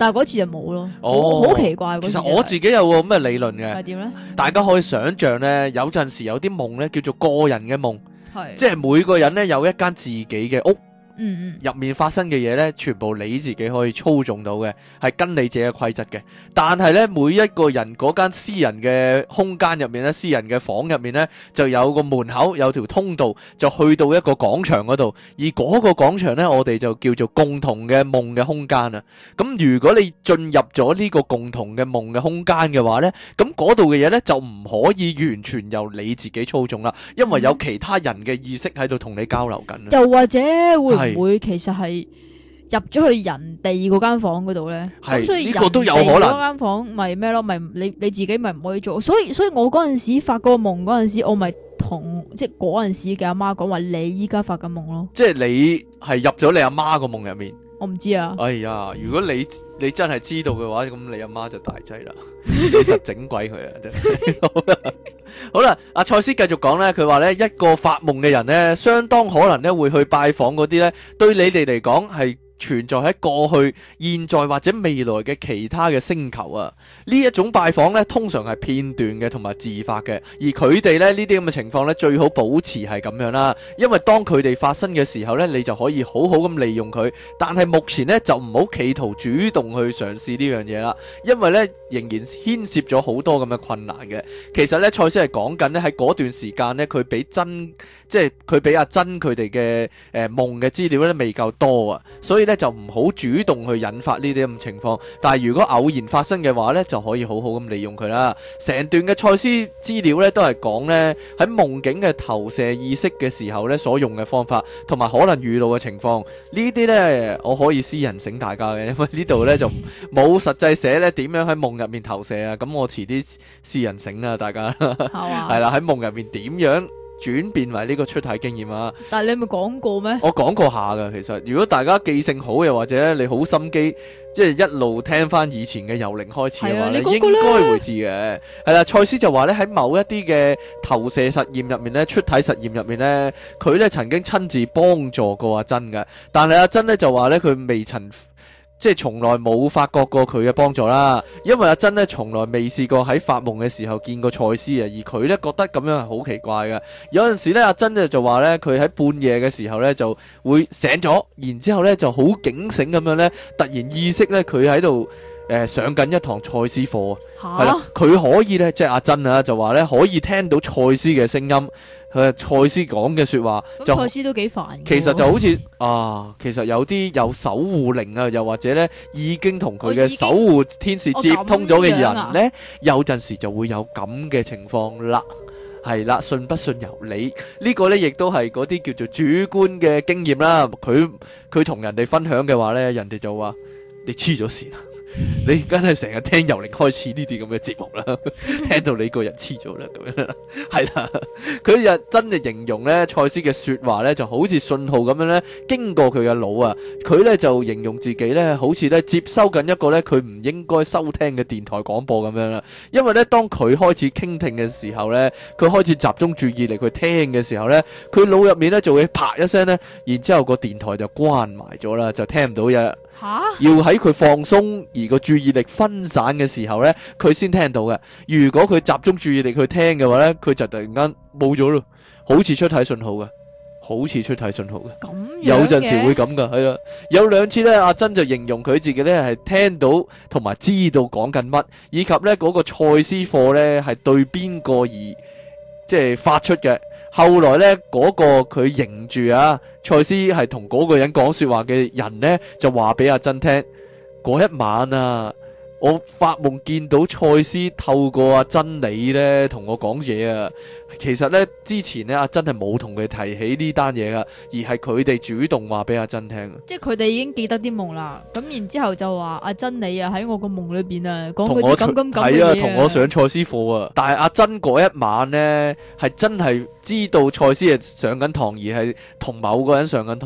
但係嗰次就冇咯。 哦， 好奇怪。 其實我自己有個咁嘅理論嘅。 係點咧？ 大家可以想象咧，有陣時有啲夢咧叫做個人嘅夢， 係即係每個人咧有一間自己嘅屋。 嗯嗯， 入面發生嘅嘢呢，全部你自己可以操縱到嘅，係跟你自己嘅規則嘅。但係呢，每一個人嗰間私人嘅空間入面呢，私人嘅房入面呢，就有個門口，有條通道，就去到一個廣場嗰度。而嗰個廣場呢，我哋就叫做共同嘅夢嘅空間啊。咁如果你進入咗呢個共同嘅夢嘅空間嘅話呢，咁嗰度嘅嘢呢，就唔可以完全由你自己操縱啦，因為有其他人嘅意識喺度同你交流緊。 又或者會唔會其實係入咗去人哋嗰間房嗰度咧？咁所以人哋嗰間房咪咩咯？咪你你自己咪唔可以做。所以所以我嗰陣時發個夢嗰陣時，我咪同即係嗰陣時嘅阿媽講話，你依家發緊夢咯。即係你係入咗你阿媽個夢入面。 我唔知啊。 哎呀，如果你你真係知道嘅話，咁你阿媽就大劑啦，你實整鬼佢啊！真係。好啦，阿賽斯繼續講咧，佢話咧，一個發夢嘅人咧，相當可能咧會去拜訪嗰啲咧，對你哋嚟講係存在喺過去、現在或者未來嘅其他嘅星球啊。呢一種拜訪咧，通常係片段嘅同埋自發嘅，而佢哋咧呢啲咁嘅情況咧，最好保持係咁樣啦。因為當佢哋發生嘅時候咧，你就可以好好咁利用佢。但係目前咧就唔好企圖主動去嘗試呢樣嘢啦，因為咧仍然牽涉咗好多咁嘅困難嘅。其實咧，賽斯係講緊咧喺嗰段時間咧，佢俾真即係佢俾阿珍佢哋嘅誒夢嘅資料咧未夠多啊，所以咧就唔好主動去引發呢啲咁嘅情況。但係如果偶然發生嘅話咧，就可以好好咁利用佢啦。成段嘅賽斯資料咧都係講咧喺夢境嘅投射意識嘅時候咧所用嘅方法，同埋可能遇到嘅情況。呢啲咧我可以私人醒大家嘅，因為呢度咧就冇實際寫咧點樣喺夢入面投射啊。咁我遲啲私人醒啦，大家係啦，喺夢入面點樣轉變為呢個出體經驗啊？ 但係你咪講過咩？ 我講過下噶，其實如果大家記性好，又或者你好心機，即係一路聽翻以前嘅由零開始嘅話，你應該會知嘅。係啦，賽斯就話咧喺某一啲嘅投射實驗入面咧，出體實驗入面咧，佢咧曾經親自幫助過阿珍嘅，但係阿珍咧就話咧佢未曾。即係從來冇發覺過佢嘅幫助啦，因為阿珍咧從來未試過喺發夢嘅時候見過賽斯啊，而佢咧覺得咁樣係好奇怪嘅。有陣時咧，阿珍咧就話咧，佢喺半夜嘅時候咧就會醒咗，然之後咧就好警醒咁樣咧，突然意識咧佢喺度誒上緊一堂賽斯課啊，係啦，佢可以咧即係阿珍啊就話咧可以聽到賽斯嘅聲音。佢賽斯講嘅說話，就賽斯都幾煩。 其實就好似啊，其實有啲有守護靈啊，又或者咧已經同佢嘅守護天使接通咗嘅人咧，有陣時就會有咁嘅情況啦。係啦，信不信由你。呢個咧亦都係嗰啲叫做主觀嘅經驗啦。佢佢同人哋分享嘅話咧，人哋就話你黐咗線啊！你梗係成日聽由零開始呢啲咁嘅節目啦，聽到你個人黐咗啦，咁樣啦，係啦。佢又真係形容咧，賽斯嘅說話咧就好似信號咁樣咧，經過佢嘅腦啊。佢咧就形容自己咧，好似咧接收緊一個咧佢唔應該收聽嘅電台廣播咁樣啦。因為咧，當佢開始傾聽嘅時候咧，佢開始集中注意力去聽嘅時候咧，佢腦入面咧就會啪一聲咧，然之後個電台就關埋咗啦，就聽唔到嘢。要喺佢放鬆而個注意力分散嘅時候呢，佢先聽到嘅。如果佢集中注意力去聽嘅話呢，佢就突然間冇咗咯，好似出體信號嘅，好似出體信號嘅。咁有陣時會咁噶，係啦。有兩次呢，阿珍就形容佢自己呢係聽到同埋知道講緊乜，以及呢嗰個賽斯課呢係對邊個而即係發出嘅。後來咧，嗰、那個佢認住啊，賽斯係同嗰個人講說話嘅人咧，就話俾阿珍聽，嗰一晚啊，我發夢見到賽斯透過阿珍你咧同我講嘢啊。其實咧之前咧阿珍係冇同佢提起呢單嘢噶，而係佢哋主動話俾阿珍聽。即係佢哋已經記得啲夢啦，咁然之後就話阿珍你啊喺我個夢裏邊啊講嗰啲咁咁咁嘅嘢。係啊，同我上賽斯課啊。但係阿珍嗰一晚咧係真係知道賽斯係上緊堂，而係同某個人上緊堂。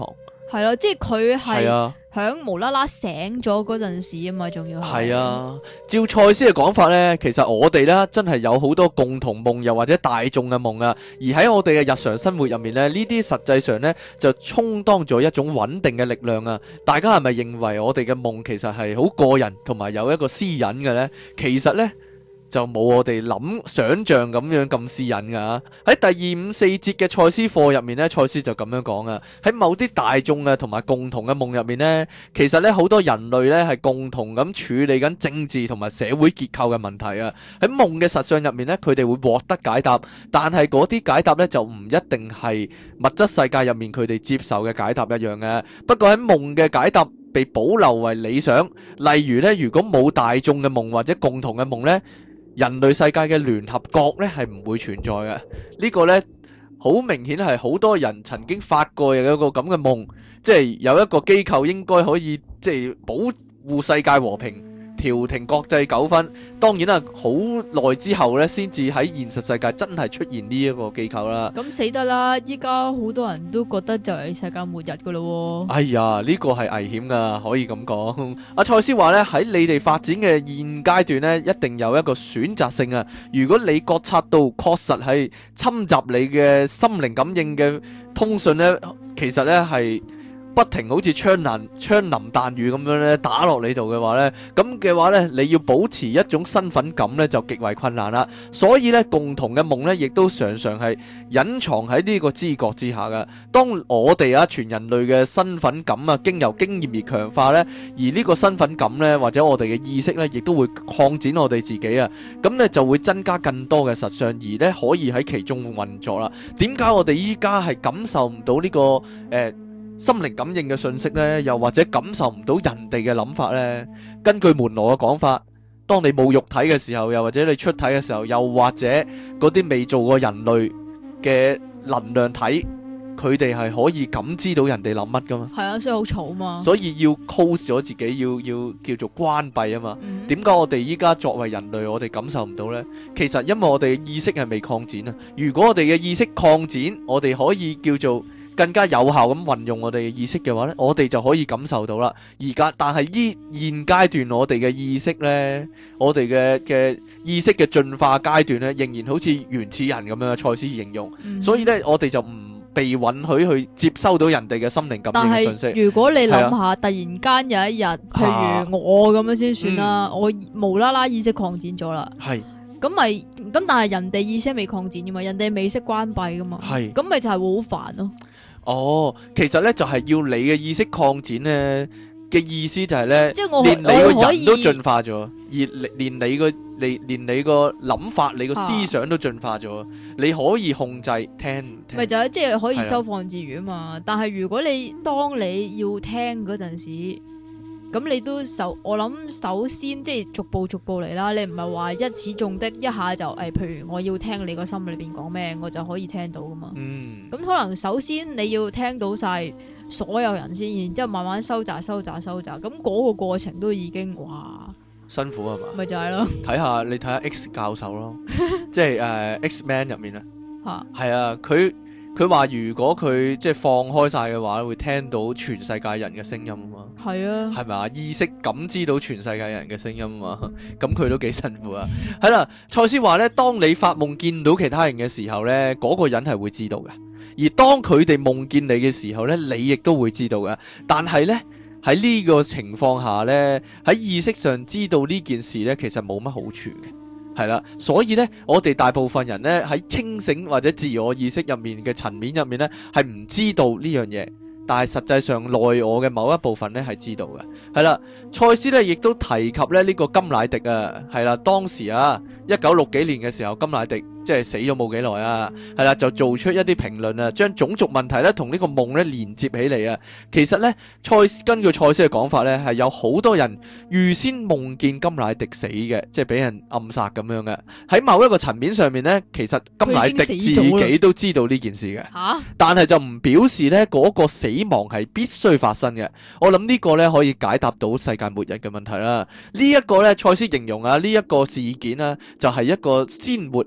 係咯，即係佢係啊。 響無啦啦醒咗嗰陣時啊嘛，仲要係。 係啊，照賽斯嘅講法呢，其實我哋呢真係有好多共同夢，又或者大眾嘅夢啊。而喺我哋嘅日常生活入面呢，呢啲實際上呢就充當咗一種穩定嘅力量啊。大家係咪認為我哋嘅夢其實係好個人，同埋有一個私隱嘅呢？其實呢，就冇我哋諗想像咁樣咁私隱噶。喺第二五四節嘅賽斯課入面呢，賽斯就咁樣講啊。喺某啲大眾啊同埋共同嘅夢入面呢，其實呢好多人類呢係共同咁處理緊政治同埋社會結構嘅問題啊。喺夢嘅實相入面呢，佢哋會獲得解答，但係嗰啲解答呢就唔一定係物質世界入面佢哋接受嘅解答一樣嘅。不過喺夢嘅解答被保留為理想，例如呢，如果冇大眾嘅夢或者共同嘅夢呢，人類世界嘅聯合國咧係唔會存在嘅。呢、這個呢，好明顯係好多人曾經發過有一個咁嘅夢，即係有一個機構應該可以即係保護世界和平，調停國際糾紛。當然啦，好耐之後呢，先至喺現實世界真係出現呢一個機構啦。 咁死得啦！依家好多人都覺得就係世界末日噶咯喎。 哎呀，呢、這個係危險噶，可以咁講。阿賽斯話呢，喺你哋發展嘅現階段呢，一定有一個選擇性啊。如果你覺察到確實係侵襲你嘅心靈感應嘅通訊呢，其實呢係不停好似槍林槍林彈雨咁樣咧打落你度嘅話咧，咁嘅話咧，你要保持一種身份感咧就極為困難啦。所以咧，共同嘅夢咧，亦都常常係隱藏喺呢個知覺之下嘅。當我哋啊全人類嘅身份感啊經由經驗而強化咧，而呢個身份感咧或者我哋嘅意識咧，亦都會擴展我哋自己啊，咁咧就會增加更多嘅實相，而咧可以喺其中運作啦。點解我哋依家係感受唔到呢個誒？呃心靈感應嘅信息呢，又或者感受唔到人哋嘅諗法呢？根據門羅嘅講法，當你冇肉體嘅時候，又或者你出體嘅時候，又或者嗰啲未做過人類嘅能量體，佢哋係可以感知到人哋諗乜噶嘛？係啊，所以好嘈嘛。 所以要 close 咗自己，要要叫做關閉啊嘛。點解、嗯、我哋依家作為人類，我哋感受唔到呢？其實因為我哋嘅意識係未擴展啊。如果我哋嘅意識擴展，我哋可以叫做更加有效咁運用我哋嘅意識嘅話呢，我哋就可以感受到啦。而家但係依現階段我哋嘅意識呢，我哋嘅嘅意識嘅進化階段呢，仍然好似原始人咁樣嘅賽斯形容。嗯、所以呢，我哋就唔被允許去接收到人哋嘅心靈感應嘅信息。 但係如果你諗下，啊、突然間有一日，譬如我咁樣先算啦，啊嗯、我無啦啦意識擴展咗啦。係。咁咪咁，但係人哋意識未擴展噶嘛，人哋未識關閉噶嘛。係。咁咪就係會好煩咯。哦，其實咧就係、是、要你嘅意識擴展咧嘅意思就係咧，即係我連你個人都進化咗，而連你個連連你個諗法、你個思想都進化咗，啊、你可以控制聽。咪就係即係可以收放自如啊嘛。的但係如果你當你要聽嗰陣時，咁你都首我諗首先即係逐步逐步嚟啦。你唔係話一始中的一下就誒、哎，譬如我要聽你個心裏邊講咩，我就可以聽到噶嘛。嗯。咁可能首先你要聽到晒所有人先，然之後慢慢收窄、收窄、收窄。咁嗰個過程都已經哇辛苦係嘛？咪就係咯。睇下你睇下 X 教授咯，即係誒、uh, X-Man 入面啊。吓。係啊，佢。佢話如果佢即係放開晒嘅話，會聽到全世界人嘅聲音啊嘛。係啊，係咪啊？意識感知到全世界人嘅聲音啊嘛。咁佢都幾辛苦啊。係啦，賽斯話咧，當你發夢見到其他人嘅時候咧，嗰個人係會知道嘅。而當佢哋夢見你嘅時候咧，你亦都會知道嘅。但係咧，喺呢個情況下咧，喺意識上知道呢件事咧，其實冇乜好處嘅。係啦，所以咧，我哋大部分人咧喺清醒或者自我意識入面嘅層面入面咧，係唔知道呢樣嘢，但係實際上內我嘅某一部分咧係知道嘅。係啦，賽斯咧亦都提及咧呢個甘乃迪啊，係啦，當時啊一九六幾年嘅時候，甘乃迪即係死咗冇幾耐啊，係啦，就做出一啲評論啊，將種族問題咧同呢個夢咧連接起嚟啊。其實咧，賽根據賽斯嘅講法咧，係有好多人預先夢見甘乃迪死嘅，即係俾人暗殺咁樣嘅。喺某一個層面上面咧，其實甘乃迪自己都知道呢件事嘅，嚇，但係就唔表示咧嗰個死亡係必須發生嘅。我諗呢個咧可以解答到世界末日嘅問題啦。呢一個咧，賽斯形容啊，呢一個事件啊，就係一個鮮活啊新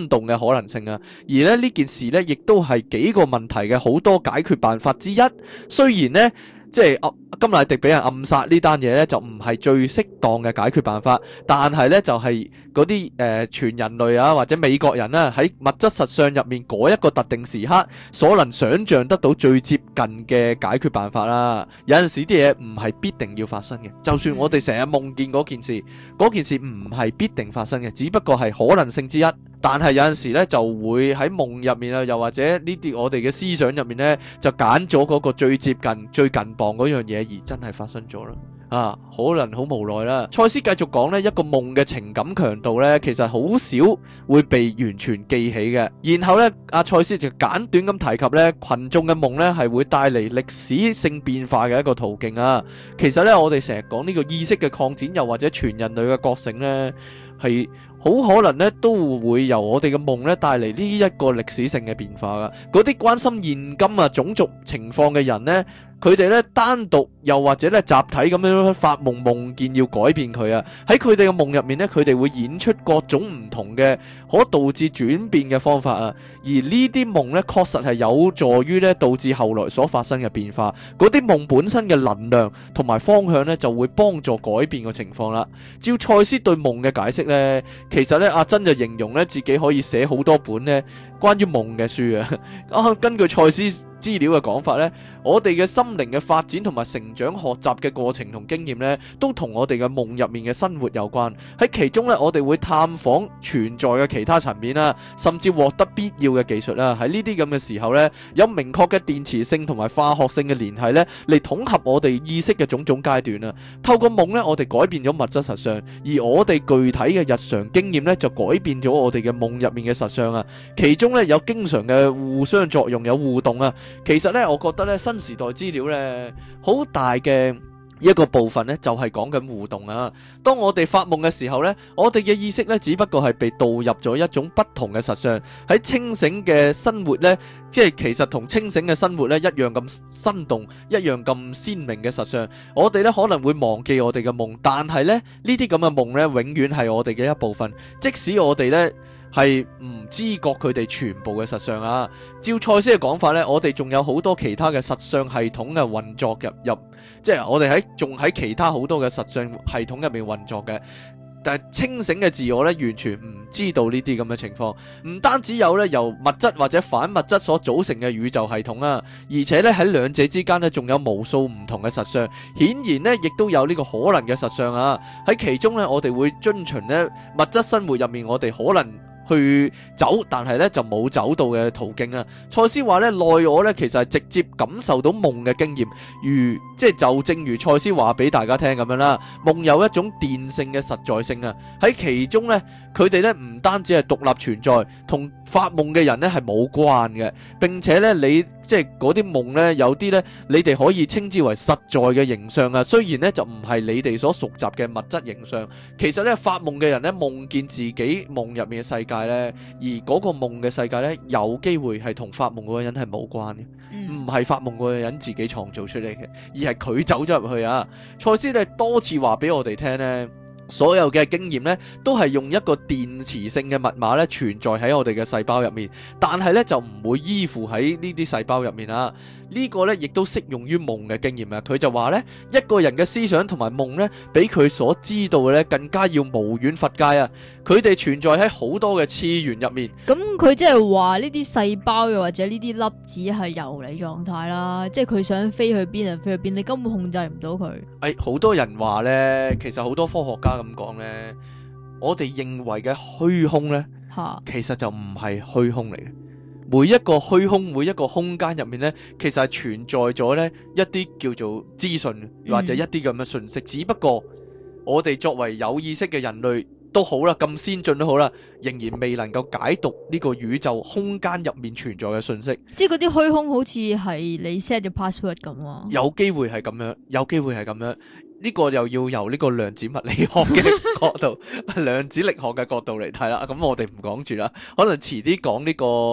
生動嘅可能性啊。而咧呢件事咧，亦都係幾個問題嘅好多解決辦法之一。雖然咧，即係啊甘迺迪俾人暗殺呢單嘢咧，就唔係最適當嘅解決辦法，但係咧就係嗰啲誒全人類啊或者美國人啊喺物質實相入面嗰一個特定時刻所能想像得到最接近嘅解決辦法啦。有陣時啲嘢唔係必定要發生嘅，就算我哋成日夢見嗰件事，嗰件事唔係必定發生嘅，只不過係可能性之一。但係有陣時咧就會喺夢入面啊，又或者呢啲我哋嘅思想入面咧，就揀咗嗰個最接近、最近磅嗰樣嘢，而真係發生咗啦。啊，可能好無奈啦。賽斯繼續講呢，一個夢嘅情感強度呢，其實好少會被完全記起嘅。然後呢，阿賽斯就簡短咁提及呢，群眾嘅夢呢係會帶嚟歷史性變化嘅一個途徑啊。其實呢，我哋成日講呢個意識嘅擴展，又或者全人類嘅覺醒呢，係好可能咧，都會由我哋嘅夢咧帶嚟呢一個歷史性嘅變化噶。嗰啲關心現今啊種族情況嘅人呢，佢哋咧單獨又或者咧集體咁樣發夢，夢見要改變佢啊。喺佢哋嘅夢入面咧，佢哋會演出各種唔同嘅可導致轉變嘅方法啊。而呢啲夢咧確實係有助於咧導致後來所發生嘅變化。嗰啲夢本身嘅能量同埋方向咧就會幫助改變個情況啦。照賽斯對夢嘅解釋咧，其實咧阿珍就形容咧自己可以寫好多本咧關於夢嘅書啊。啊，根據賽斯資料嘅講法呢，我哋嘅心靈嘅發展同埋成長學習嘅過程同經驗呢，都同我哋嘅夢入面嘅生活有關。喺其中呢，我哋會探訪存在嘅其他層面啦，甚至獲得必要嘅技術啦。喺呢啲咁嘅時候呢，有明確嘅電磁性同埋化學性嘅聯繫呢，嚟統合我哋意識嘅種種階段啦。透過夢呢，我哋改變咗物質實相，而我哋具體嘅日常經驗呢，就改變咗我哋嘅夢入面嘅實相啊。其中呢，有經常嘅互相作用，有互動啊。其實咧，我覺得咧，新時代資料咧，好大嘅一個部分咧，就係講緊互動啊。當我哋發夢嘅時候咧，我哋嘅意識咧，只不過係被導入咗一種不同嘅實相。喺清醒嘅生活咧，即係其實同清醒嘅生活咧一樣咁生動，一樣咁鮮明嘅實相。我哋咧可能會忘記我哋嘅夢，但係咧呢啲咁嘅夢咧，永遠係我哋嘅一部分。即使我哋咧係唔知覺佢哋全部嘅實相啊。照賽斯嘅講法呢，我哋仲有好多其他嘅實相系統嘅運作入入，即係我哋喺仲喺其他好多嘅實相系統入面運作嘅。但係清醒嘅自我呢，完全唔知道呢啲咁嘅情況。唔單止有呢由物質或者反物質所組成嘅宇宙系統啦，而且呢喺兩者之間呢，仲有無數唔同嘅實相。顯然呢，亦都有呢個可能嘅實相啊。喺其中呢，我哋會遵循呢物質生活入面，我哋可能去走，但係咧就冇走到嘅途徑啊。賽斯話咧，內我咧其實係直接感受到夢嘅經驗，如即係就正如賽斯話俾大家聽咁樣啦。夢有一種電性嘅實在性啊，喺其中咧，佢哋咧唔單止係獨立存在，同發夢嘅人咧係冇關嘅，並且咧你即係嗰啲夢咧，有啲咧你哋可以稱之為實在嘅形象啊。雖然咧就唔係你哋所熟習嘅物質形象，其實咧發夢嘅人咧夢見自己夢入面嘅世界咧，而嗰個夢嘅世界咧有機會係同發夢嗰個人係冇關嘅，唔係發夢嗰個人自己創造出嚟嘅，而係佢走咗入去啊。賽斯咧多次話俾我哋聽咧，所有嘅經驗咧都係用一個電磁性嘅密碼咧存在喺我哋嘅細胞入面，但係咧就唔會依附喺呢啲細胞入面啊。呢個咧亦都適用於夢嘅經驗啊。佢就話咧，一個人嘅思想同埋夢咧，比佢所知道嘅咧更加要無遠弗屆啊。佢哋存在喺好多嘅次元入面。 咁佢即係話呢啲細胞又或者呢啲粒子係游離狀態啦，即係佢想飛去邊就飛去邊，你根本控制唔到佢。 誒，好多人話咧，其實好多科學家咁講咧，我哋認為嘅虛空咧，其實就唔係虛空嚟嘅。每一個虛空，每一個空間入面咧，其實係存在咗咧一啲叫做資訊或者一啲咁嘅信息，嗯、只不過我哋作為有意識嘅人類都好啦，咁先進都好啦，仍然未能夠解讀呢個宇宙空間入面存在嘅信息。即係嗰啲虛空好似係你 set 咗 password 咁啊？有機會係咁樣，有機會係咁樣。呢個又要由呢個量子物理學嘅角度、量子力學嘅角度嚟睇啦。咁我哋唔講住啦，可能遲啲講呢個。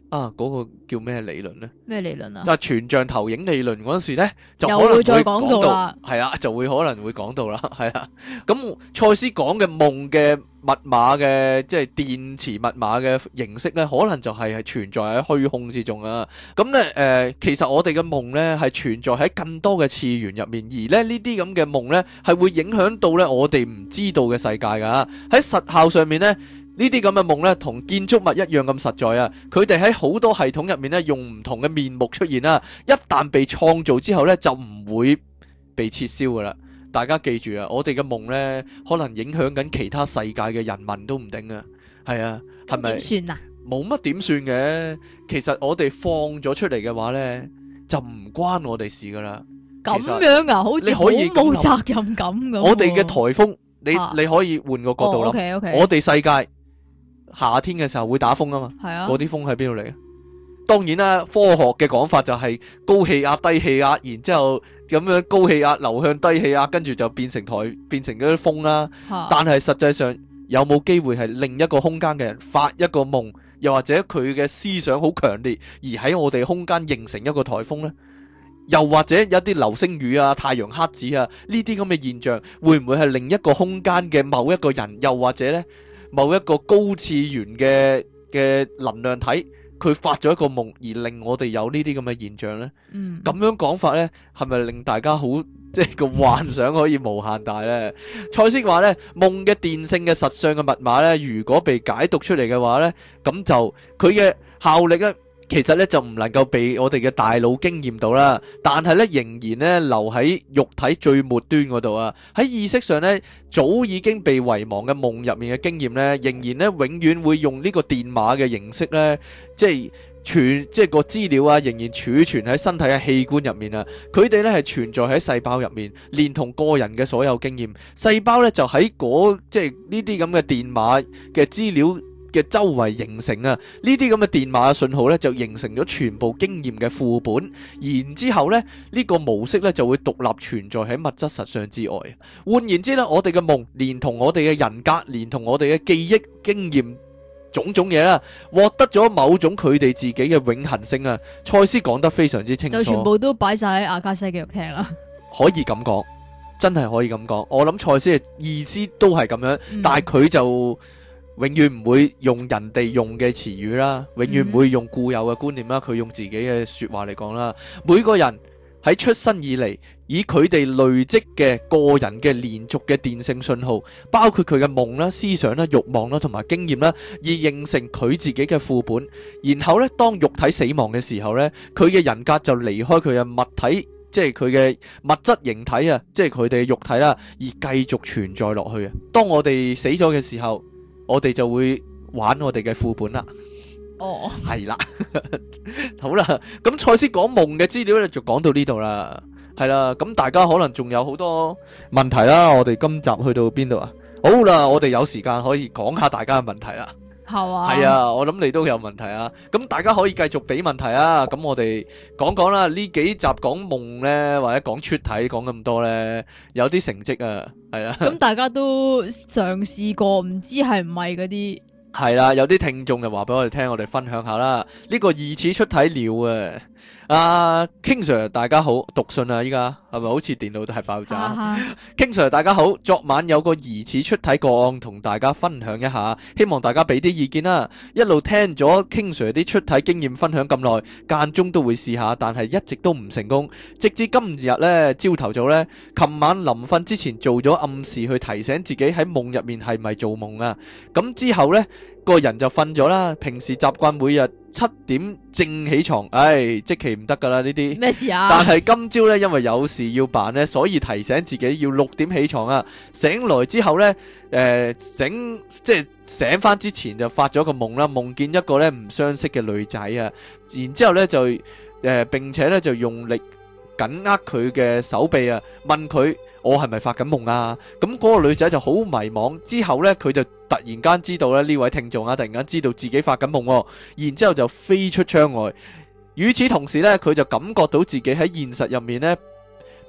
啊，嗰、那個叫咩理論咧？ 咩理論啊？ 啊，全像投影理論嗰陣時咧，就可能又會會再講到到啦， 係啦，就會可能會講到啦，係啦。咁賽斯講嘅夢嘅密碼嘅，即係電磁密碼嘅形式咧，可能就係係存在喺虛空之中啊。咁咧誒，其實我哋嘅夢咧係存在喺更多嘅次元入面，而咧呢啲咁嘅夢咧係會影響到咧我哋唔知道嘅世界噶。喺實效上面咧。呢啲咁嘅夢咧，同建築物一樣咁實在啊！佢哋喺好多系統入面咧，用唔同嘅面目出現啦。一旦被創造之後咧，就唔會被撤銷噶啦。大家記住啊，我哋嘅夢咧，可能影響緊其他世界嘅人民都唔定啊。係啊，係咪？ 點算啊？ 冇乜點算嘅。其實我哋放咗出嚟嘅話咧，就唔關我哋事噶啦。 咁樣啊，好似好冇責任感咁。 我哋嘅颱風，你、 啊、 你可以換個角度諗。 哦、okay, okay. 我哋世界。夏天嘅時候會打風啊嘛， 係啊， 嗰啲風喺邊度嚟啊？當然啦，科學嘅講法就係高氣壓、低氣壓，然之後咁樣高氣壓流向低氣壓，跟住就變成台變成嗰啲風啦。啊、但係實際上有冇機會係另一個空間嘅人發一個夢，又或者佢嘅思想好強烈，而喺我哋空間形成一個台風呢？又或者有啲流星雨啊、太陽黑子啊呢啲咁嘅現象，會唔會係另一個空間嘅某一個人，又或者呢？某一個高次元嘅嘅能量體，佢發咗一個夢，而令我哋有呢啲咁嘅現象呢？嗯，咁樣講法呢，係咪令大家好即係個幻想可以無限大呢？賽斯話呢，夢嘅電性嘅實相嘅密碼呢，如果被解讀出嚟嘅話呢，咁就佢嘅效力呢，其實咧就唔能夠被我哋嘅大腦經驗到啦，但係咧仍然咧留喺肉體最末端嗰度啊！喺意識上咧早已經被遺忘嘅夢入面嘅經驗咧，仍然咧永遠會用呢個電碼嘅形式咧，即係存即係個資料啊，仍然儲存喺身體嘅器官入面啊！佢哋咧係存在喺細胞入面，連同個人嘅所有經驗，細胞咧就喺嗰即係呢啲咁嘅電碼嘅資料嘅周圍形成啊，呢啲咁嘅電碼信號咧就形成咗全部經驗嘅副本，然之後咧呢個模式咧就會獨立存在喺物質實相之外。換言之咧，我哋嘅夢連同我哋嘅人格，連同我哋嘅記憶經驗種種嘢啦，獲得咗某種佢哋自己嘅永恆性啊。賽斯講得非常之清楚， 就全部都擺晒喺阿卡西記錄廳啦。 可以咁講，真係可以咁講。我諗賽斯嘅意思都係咁樣，嗯、但係佢就永遠唔會用人哋用嘅詞語啦，永遠唔會用固有嘅觀念啦，佢用自己嘅說話嚟講啦。每個人喺出生以嚟，以佢哋累積嘅個人嘅連續嘅電性信號，包括佢嘅夢啦、思想啦、慾望啦同埋經驗啦，而形成佢自己嘅副本。然後咧，當肉體死亡嘅時候咧，佢嘅人格就離開佢嘅物體，即係佢嘅物質形體啊，即係佢哋嘅肉體啦，而繼續存在落去啊。當我哋死咗嘅時候，我哋就會玩我哋嘅副本啦。哦，係啦，好啦，咁賽斯講夢嘅資料咧，就講到呢度啦。係啦，咁大家可能仲有好多問題啦。我哋今集去到邊度啊？好啦，我哋有時間可以講下大家嘅問題啦。係啊，係啊，我諗你都有問題啊。咁大家可以繼續俾問題啊。咁我哋講講啦。呢幾集講夢咧，或者講出體講咁多咧，有啲成績啊。係啊。咁大家都嘗試過，唔知係唔係嗰啲。係啦，有啲聽眾就話俾我哋聽，我哋分享下啦。呢個疑似出體了啊！阿、uh, King Sir 大家好，讀信啊，依家係咪好似電腦大爆炸？King Sir 大家好，昨晚有個疑似出體個案同大家分享一下，希望大家俾啲意見啦。一路聽咗 King Sir 啲出體經驗分享咁耐，間中都會試下，但係一直都唔成功。直至今日呢，朝頭早呢，琴晚臨瞓之前做咗暗示去提醒自己喺夢入面係咪做夢啊？咁之後呢，個人就瞓咗啦。平時習慣每日七點正起床，唉，即期唔得噶啦呢啲。咩事啊？但係今朝呢，因為有事要辦呢，所以提醒自己要六點起床啊。醒來之後呢，誒、呃、醒即係醒翻之前就發咗個夢啦，夢見一個呢唔相識嘅女仔啊。然之後呢就誒、呃、並且呢就用力緊握佢嘅手臂啊，問佢。我係咪發緊夢啊？咁嗰個女仔就好迷茫，之後呢，佢就突然間知道咧，呢位聽眾啊，突然間知道自己發緊夢，然之後就飛出窗外。與此同時呢，佢就感覺到自己喺現實入面呢，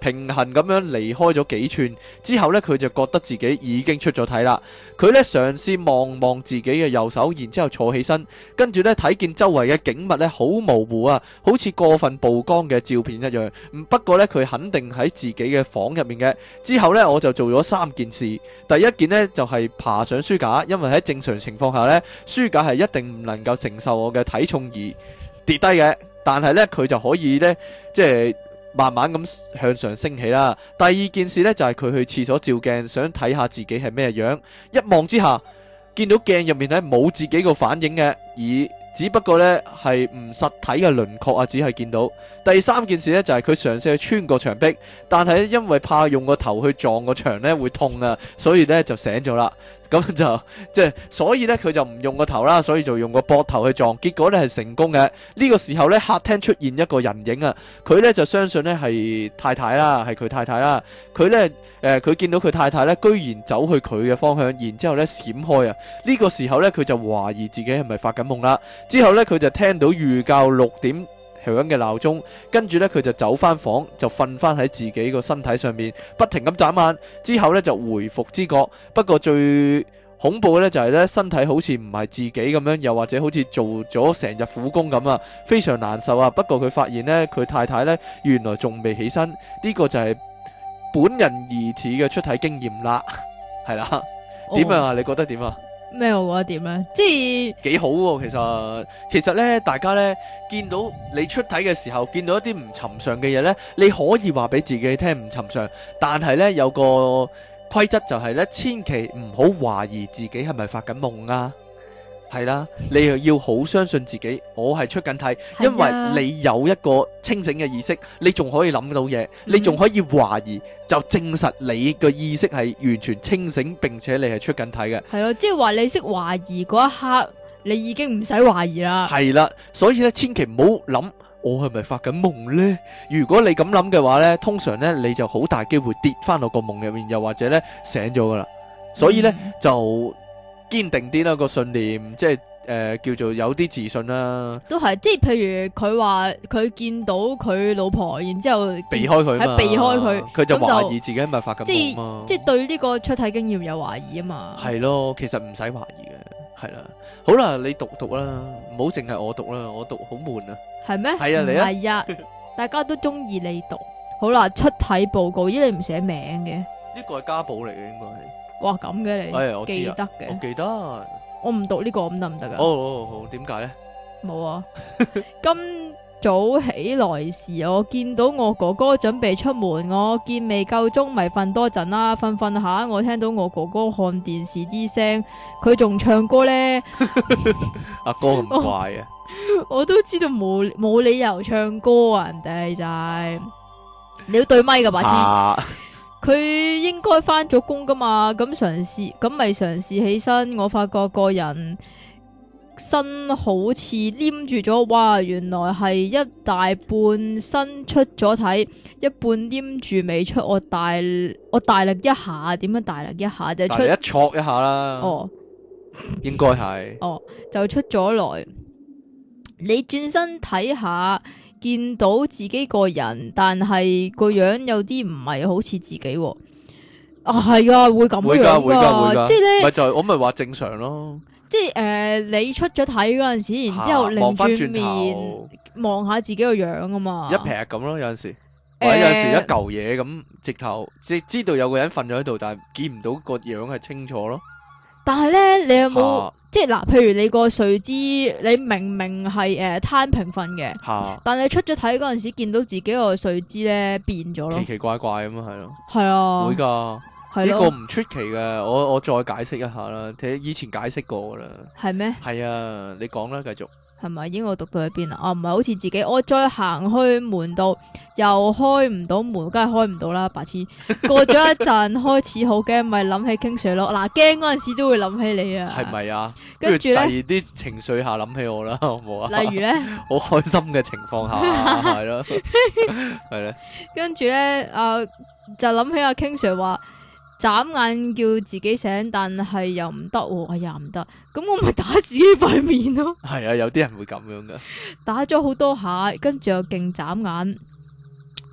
平衡咁樣離開咗幾寸之後呢，佢就覺得自己已經出咗體啦。佢呢嘗試望望自己嘅右手，然之後坐起身，跟住呢睇見周圍嘅景物呢好模糊啊，好似過分曝光嘅照片一樣。不過呢，佢肯定喺自己嘅房入面嘅。之後呢，我就做咗三件事。第一件呢，就係爬上書架，因為喺正常情況下呢，書架係一定唔能夠承受我嘅體重而跌低嘅。但係呢，佢就可以呢，即係慢慢咁向上升起啦。第二件事呢，就係佢去廁所照鏡，想睇下自己係咩樣。一望之下，見到鏡入面呢冇自己個反應嘅，而只不過呢係唔實體嘅輪廓啊，只係見到。第三件事呢，就係佢嘗試去穿過牆壁，但係因為怕用個頭去撞個牆呢會痛啊，所以呢就醒咗啦。咁就即係，所以咧佢就唔用個頭啦，所以就用個膊頭去撞，結果咧係成功嘅。呢個時候咧，客廳出現一個人影啊，佢咧就相信咧係太太啦，係佢太太啦。佢咧誒，佢見到佢太太咧，居然走去佢嘅方向，然之後咧閃開啊。呢個時候咧，佢就懷疑自己係咪發緊夢啦。之後咧，佢就聽到預校六點響嘅鬧鐘，跟住咧佢就走翻房，就瞓翻喺自己個身體上面，不停咁眨眼。之後咧就回復知覺，不過最恐怖嘅咧就係咧身體好似唔係自己咁樣，又或者好似做咗成日苦工咁啊，非常難受啊。不過佢發現咧佢太太咧原來仲未起身，呢個就係本人疑似嘅出體經驗啦，係啦。點樣啊？你覺得點啊？ 咩？我覺得點咧？即係幾好喎，其實其實咧，大家咧見到你出體嘅時候，見到一啲唔尋常嘅嘢咧，你可以話俾自己聽唔尋常，但係咧有個規則就係咧，千祈唔好懷疑自己係咪發緊夢啊。係啦，你又要好相信自己，我係出緊體，因為你有一個清醒嘅意識，你仲可以諗到嘢，你仲可以懷疑，就證實你嘅意識係完全清醒，並且你係出緊體嘅。 係咯，即係話你識懷疑嗰一刻，你已經唔使懷疑啦。係啦，所以咧，千祈唔好諗我係咪發緊夢呢？如果你咁諗嘅話呢，通常呢你就好大機會跌翻落個夢入面，又或者呢醒咗噶啦。所以呢，嗯、就堅定啲啦個信念，即係誒、呃、叫做有啲自信啦。都係，即係譬如佢話佢見到佢老婆，然之後避開佢，喺避開佢，佢就懷疑自己係咪發緊夢嘛。即係對呢個出體經驗有懷疑啊嘛。係咯，其實唔使懷疑嘅，係啦。好啦，你讀讀啦，唔好淨係我讀啦，我讀好悶啊。係咩？係啊，你啊。係啊，大家都中意你讀。好啦，出體報告，咦你唔寫名嘅？呢個係家寶嚟嘅，應該係。哇咁嘅你，哎、我記得嘅，我記得，我唔讀呢個咁得唔得噶？哦哦好，點解咧？冇啊！今早起來時，我見到我哥哥準備出門，我見未夠鐘，咪瞓多陣啦。瞓瞓下，我聽到我哥哥看電視啲聲，佢仲唱歌咧。阿哥咁怪啊！我，我都知道冇冇理由唱歌啊，人哋就係、是、你要對咪噶白痴。啊佢應該翻咗工噶嘛，咁嘗試，咁咪嘗試起身，我發覺個人身好似黏住咗，哇！原來係一大半身出咗體，一半黏住未出，我大我大力一下，點樣大力一下就出，一戳一下啦。哦，應該係。哦，就出咗來。你轉身睇下。見到自己個人，但係個樣有啲唔係好似自己喎。啊，係啊，會咁樣噶，即係咧，咪就係我咪話正常咯。即係誒、呃，你出咗體嗰陣時，然之後擰轉面望下自己個樣啊嘛，一劈咁咯，有陣時，或者有陣時一嚿嘢咁，直頭即係知道有個人瞓咗喺度，但係見唔到個樣係清楚咯。但係咧，你有冇、啊、即係嗱？譬如你個睡姿，你明明係誒攤平瞓嘅，啊、但係出咗體嗰陣時，見到自己個睡姿咧變咗咯，奇奇怪怪咁啊，係咯，係啊，會噶，呢個唔出奇嘅。我我再解釋一下啦，睇以前解釋過噶啦，係咩？係啊，你講啦，繼續。係咪已經我讀到喺邊啊？哦，唔係好似自己，我再行去門度又開唔到門，梗係開唔到啦，白痴！過咗一陣開始好驚，咪諗起傾水咯。嗱，驚嗰陣時都會諗起你啊。係咪啊？跟住咧，第二啲情緒下諗起我啦，好唔好啊？例如咧，好開心嘅情況下係咯，係咧。跟住咧，啊，就諗起阿 King Sir 話。眨眼叫自己醒，但係又唔得喎，哎呀唔得，咁我咪打自己塊面咯。係啊，有啲人會咁樣噶，打咗好多下，跟住又勁眨眼，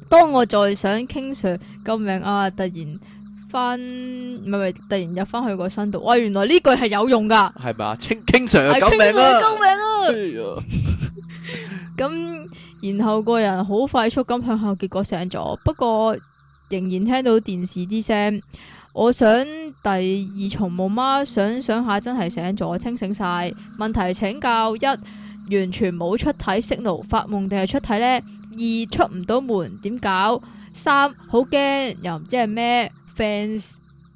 當我再想King Sir救命啊，突然翻唔係唔係，突然入翻去個身度，哇！原來呢句係有用噶， 係咪啊？King Sir 係救命 King Sir 啊！ 救命啊！ 哎呀咁然後個人好快速咁向後，結果醒咗，不過仍然聽到電視啲聲。我想第二重夢嗎？想想下真係醒咗，清醒晒。問題請教：一、完全冇出體 signal，發夢定係出體呢？二、出唔到門點搞？三、好驚又唔知係咩 fans。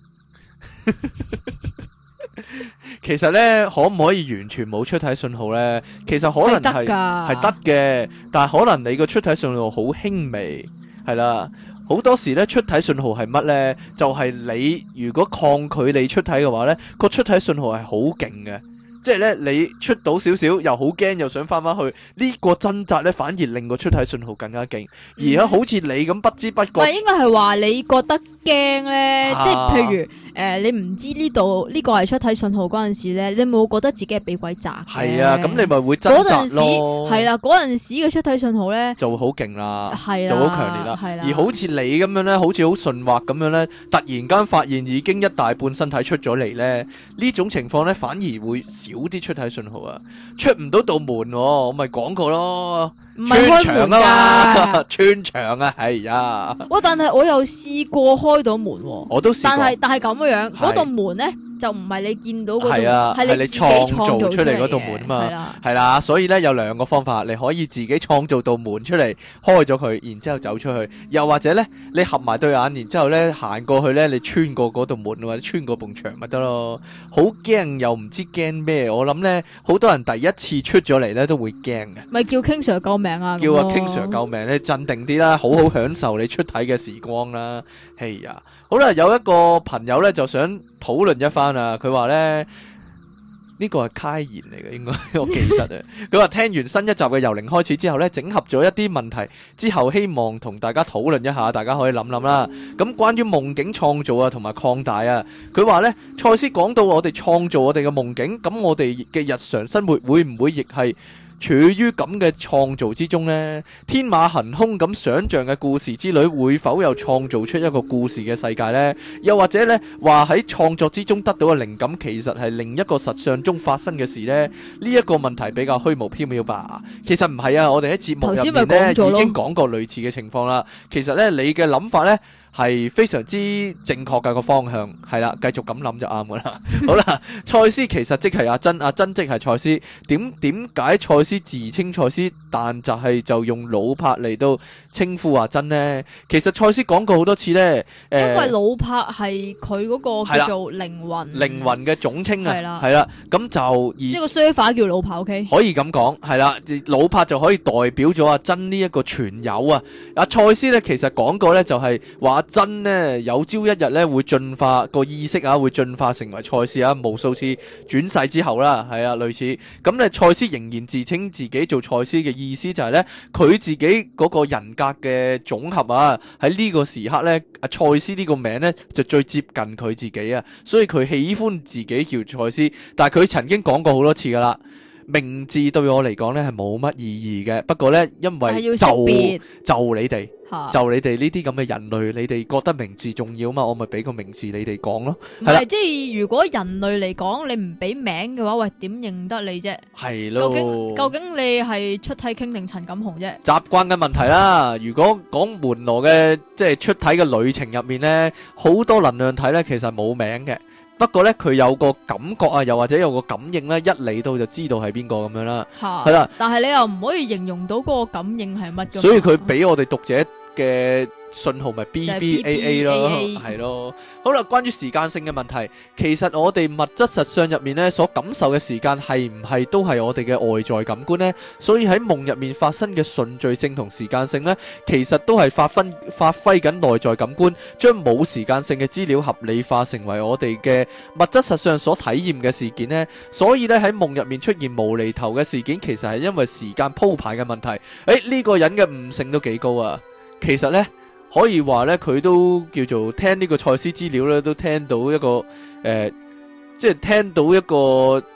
其實咧，可唔可以完全冇出體信號咧？其實可能係係得嘅，但係可能你個出體信號好輕微，係啦。好多時咧，出體信號係乜咧？就係、是、你如果抗拒你出體嘅話咧，個出體信號係好勁嘅。即係咧，你出到少少，又好驚，又想翻翻去，呢、這個掙扎咧，反而令個出體信號更加勁。而家好似你咁不知不覺， 唔係應該係話你覺得驚咧， 啊、 即係譬如。誒、呃，你唔知呢度呢個係出體信號嗰陣時咧，你冇覺得自己係俾鬼砸？ 係啊，咁你咪會掙扎咯。 係啦，嗰陣時嘅出體信號咧就會好勁啦， 係就好強烈啦。 係啦， 而好似你咁樣咧，好似好順滑咁樣咧，突然間發現已經一大半身體出咗嚟咧，呢種情況咧反而會少啲出體信號啊，出唔到道門、哦，我咪講過咯。 唔係開門㗎， 穿牆啊，係啊！ 哇！但係我又試過開到門喎， 我都試過， 但係但係咁嘅樣，嗰道門咧就唔係你見到嗰度，係啊， 係你自己創造出嚟嗰道門啊嘛， 係啦， 係啦，所以咧有兩個方法，你可以自己創造道門出嚟，開咗佢，然之後走出去，又或者咧你合埋對眼，然之後咧行過去咧，你穿過嗰道門或者穿過埲牆咪得咯。好驚又唔知驚咩，我諗咧好多人第一次出咗嚟咧都會驚嘅。 咪叫 King Sir 救命啊！ 叫阿 King Sir 救命，你鎮定啲啦，好好享受你出體嘅時光啦。係啊，好啦，有一個朋友咧就想討論一番啊，佢話咧呢個係開言嚟嘅，應該我記得啊。佢話聽完新一集嘅由零開始之後咧，整合咗一啲問題之後，希望同大家討論一下，大家可以諗諗啦。咁關於夢境創造啊，同埋擴大啊，佢話咧，賽斯講到我哋創造我哋嘅夢境，咁我哋嘅日常生活會唔會亦係處於咁嘅創造之中呢？天馬行空咁想像嘅故事之旅，會否又創造出一個故事嘅世界呢？又或者呢，話喺創作之中得到嘅靈感，其實係另一個實相中發生嘅事呢？呢一個問題比較虛無縹緲吧。其實唔係啊，我哋喺節目入面呢已經講過類似嘅情況啦。其實呢，你嘅諗法呢係非常之正確嘅個方向，係啦，繼續咁諗就啱噶啦。好啦，賽斯其實即係阿珍，阿珍即係賽斯。點點解賽斯自稱賽斯，但就係就用老柏嚟到稱呼阿珍呢？其實賽斯講過好多次呢，誒、呃， 因為老柏係佢嗰個叫做靈魂， 靈魂嘅總稱啊， 係啦， 係啦，咁就即係個 server 叫老柏 ，OK， 可以咁講，係啦，老柏就可以代表咗阿珍呢一個傳友啊。阿賽斯呢，其實講過呢，就係話。真呢，有朝一日咧會進化個意識啊，會進化成為賽斯啊，無數次轉世之後啦，係啊，類似咁咧。賽斯仍然自稱自己做賽斯嘅意思就係咧，佢自己嗰個人格嘅總合啊，喺呢個時刻咧，阿賽斯呢個名咧就最接近佢自己啊，所以佢喜歡自己叫賽斯。但係佢曾經講過好多次噶啦，名字對我嚟講咧係冇乜意義嘅，不過咧因為就就你哋。就你哋呢啲咁嘅人類，你哋覺得名字重要嘛？我咪俾個名字你哋講咯。 唔係，即係如果人類嚟講，你唔俾名嘅話，喂，點認得你啫？ 係咯。 究竟究竟你係出體傾定陳錦鴻啫？ 習慣嘅問題啦。如果講門羅嘅即係出體嘅旅程入面咧，好多能量體咧其實冇名嘅。不過咧，佢有個感覺啊，又或者有個感應咧，一嚟到就知道係邊個咁樣啦。係啦。但係你又唔可以形容到嗰個感應係乜嘅。 所以佢俾我哋讀者嘅信號咪 B B A A 咯，係咯。好啦，關於時間性嘅問題，其實我哋物質實相入面咧所感受嘅時間係唔係都係我哋嘅外在感官呢？所以喺夢入面發生嘅順序性同時間性呢，其實都係發揮發揮緊內在感官，將冇時間性嘅資料合理化，成為我哋嘅物質實相所體驗嘅事件呢。所以咧喺夢入面出現無厘頭嘅事件，其實係因為時間鋪排嘅問題。誒，呢個人嘅悟性都幾高啊！其實呢。可以話咧，佢都叫做聽呢個賽斯資料咧，都聽到一個誒、呃，即係聽到一個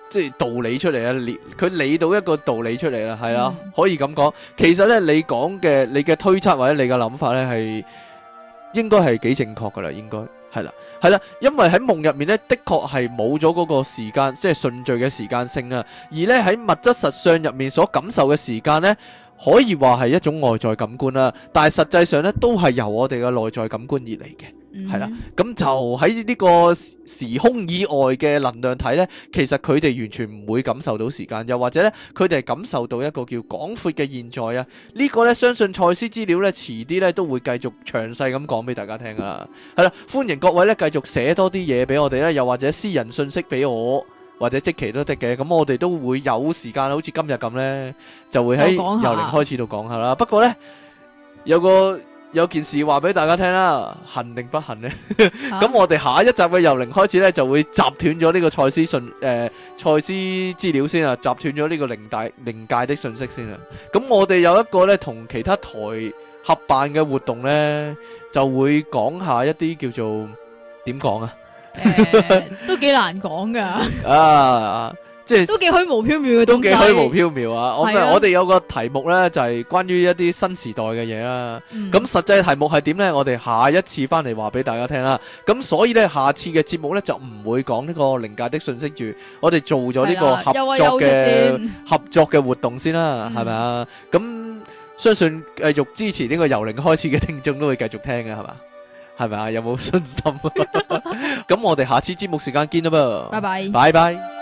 即係道理出嚟啊，理佢理到一個道理出嚟啦，係啊， 嗯可以咁講。其實咧，你講嘅你嘅推測或者你嘅諗法咧，係應該係幾正確噶啦，應該係啦，係啦，因為喺夢入面咧，的確係冇咗嗰個時間，即係順序嘅時間性啊。而咧喺物質實相入面所感受嘅時間咧，可以話係一種外在感官啦，但係實際上咧都係由我哋嘅內在感官而嚟嘅。係啦，咁就喺呢個時空以外嘅能量體呢，其實佢哋完全唔會感受到時間，又或者呢，佢哋係感受到一個叫廣闊嘅現在啊！呢個呢，相信賽斯資料呢，遲啲呢都會繼續詳細咁講俾大家聽啊！係啦，歡迎各位呢繼續寫多啲嘢俾我哋啦，又或者私人信息俾我，或者即期都得嘅，咁我哋都會有時間，好似今日咁呢，就會喺由零開始度講下啦。不過呢，有個有件事話俾大家聽啦，幸定不幸呢？咁、啊、我哋下一集嘅由零開始呢，就會截斷咗呢個賽斯信誒賽斯資料先啊，截斷咗呢個靈界靈界的信息先啊。咁我哋有一個呢，同其他台合辦嘅活動呢，就會講下一啲叫做點講啊？ 誒，都幾難講噶。啊！ 即係都幾虛無縹緲嘅東西， 都幾虛無縹緲啊！我啊我哋有個題目呢，就係、是、關於一啲新時代嘅嘢啦。咁、嗯、實際題目係點呢？我哋下一次翻嚟話俾大家聽啦。咁所以呢，下次嘅節目呢，就唔會講呢個靈界的信息住。我哋做咗呢個合作嘅合作嘅活動先啦，係咪啊？咁相信繼續支持呢個由零開始嘅聽眾都會繼續聽嘅，係嘛？係咪啊？有冇信心？咁我哋下次節目時間見啦噃。拜拜。拜拜。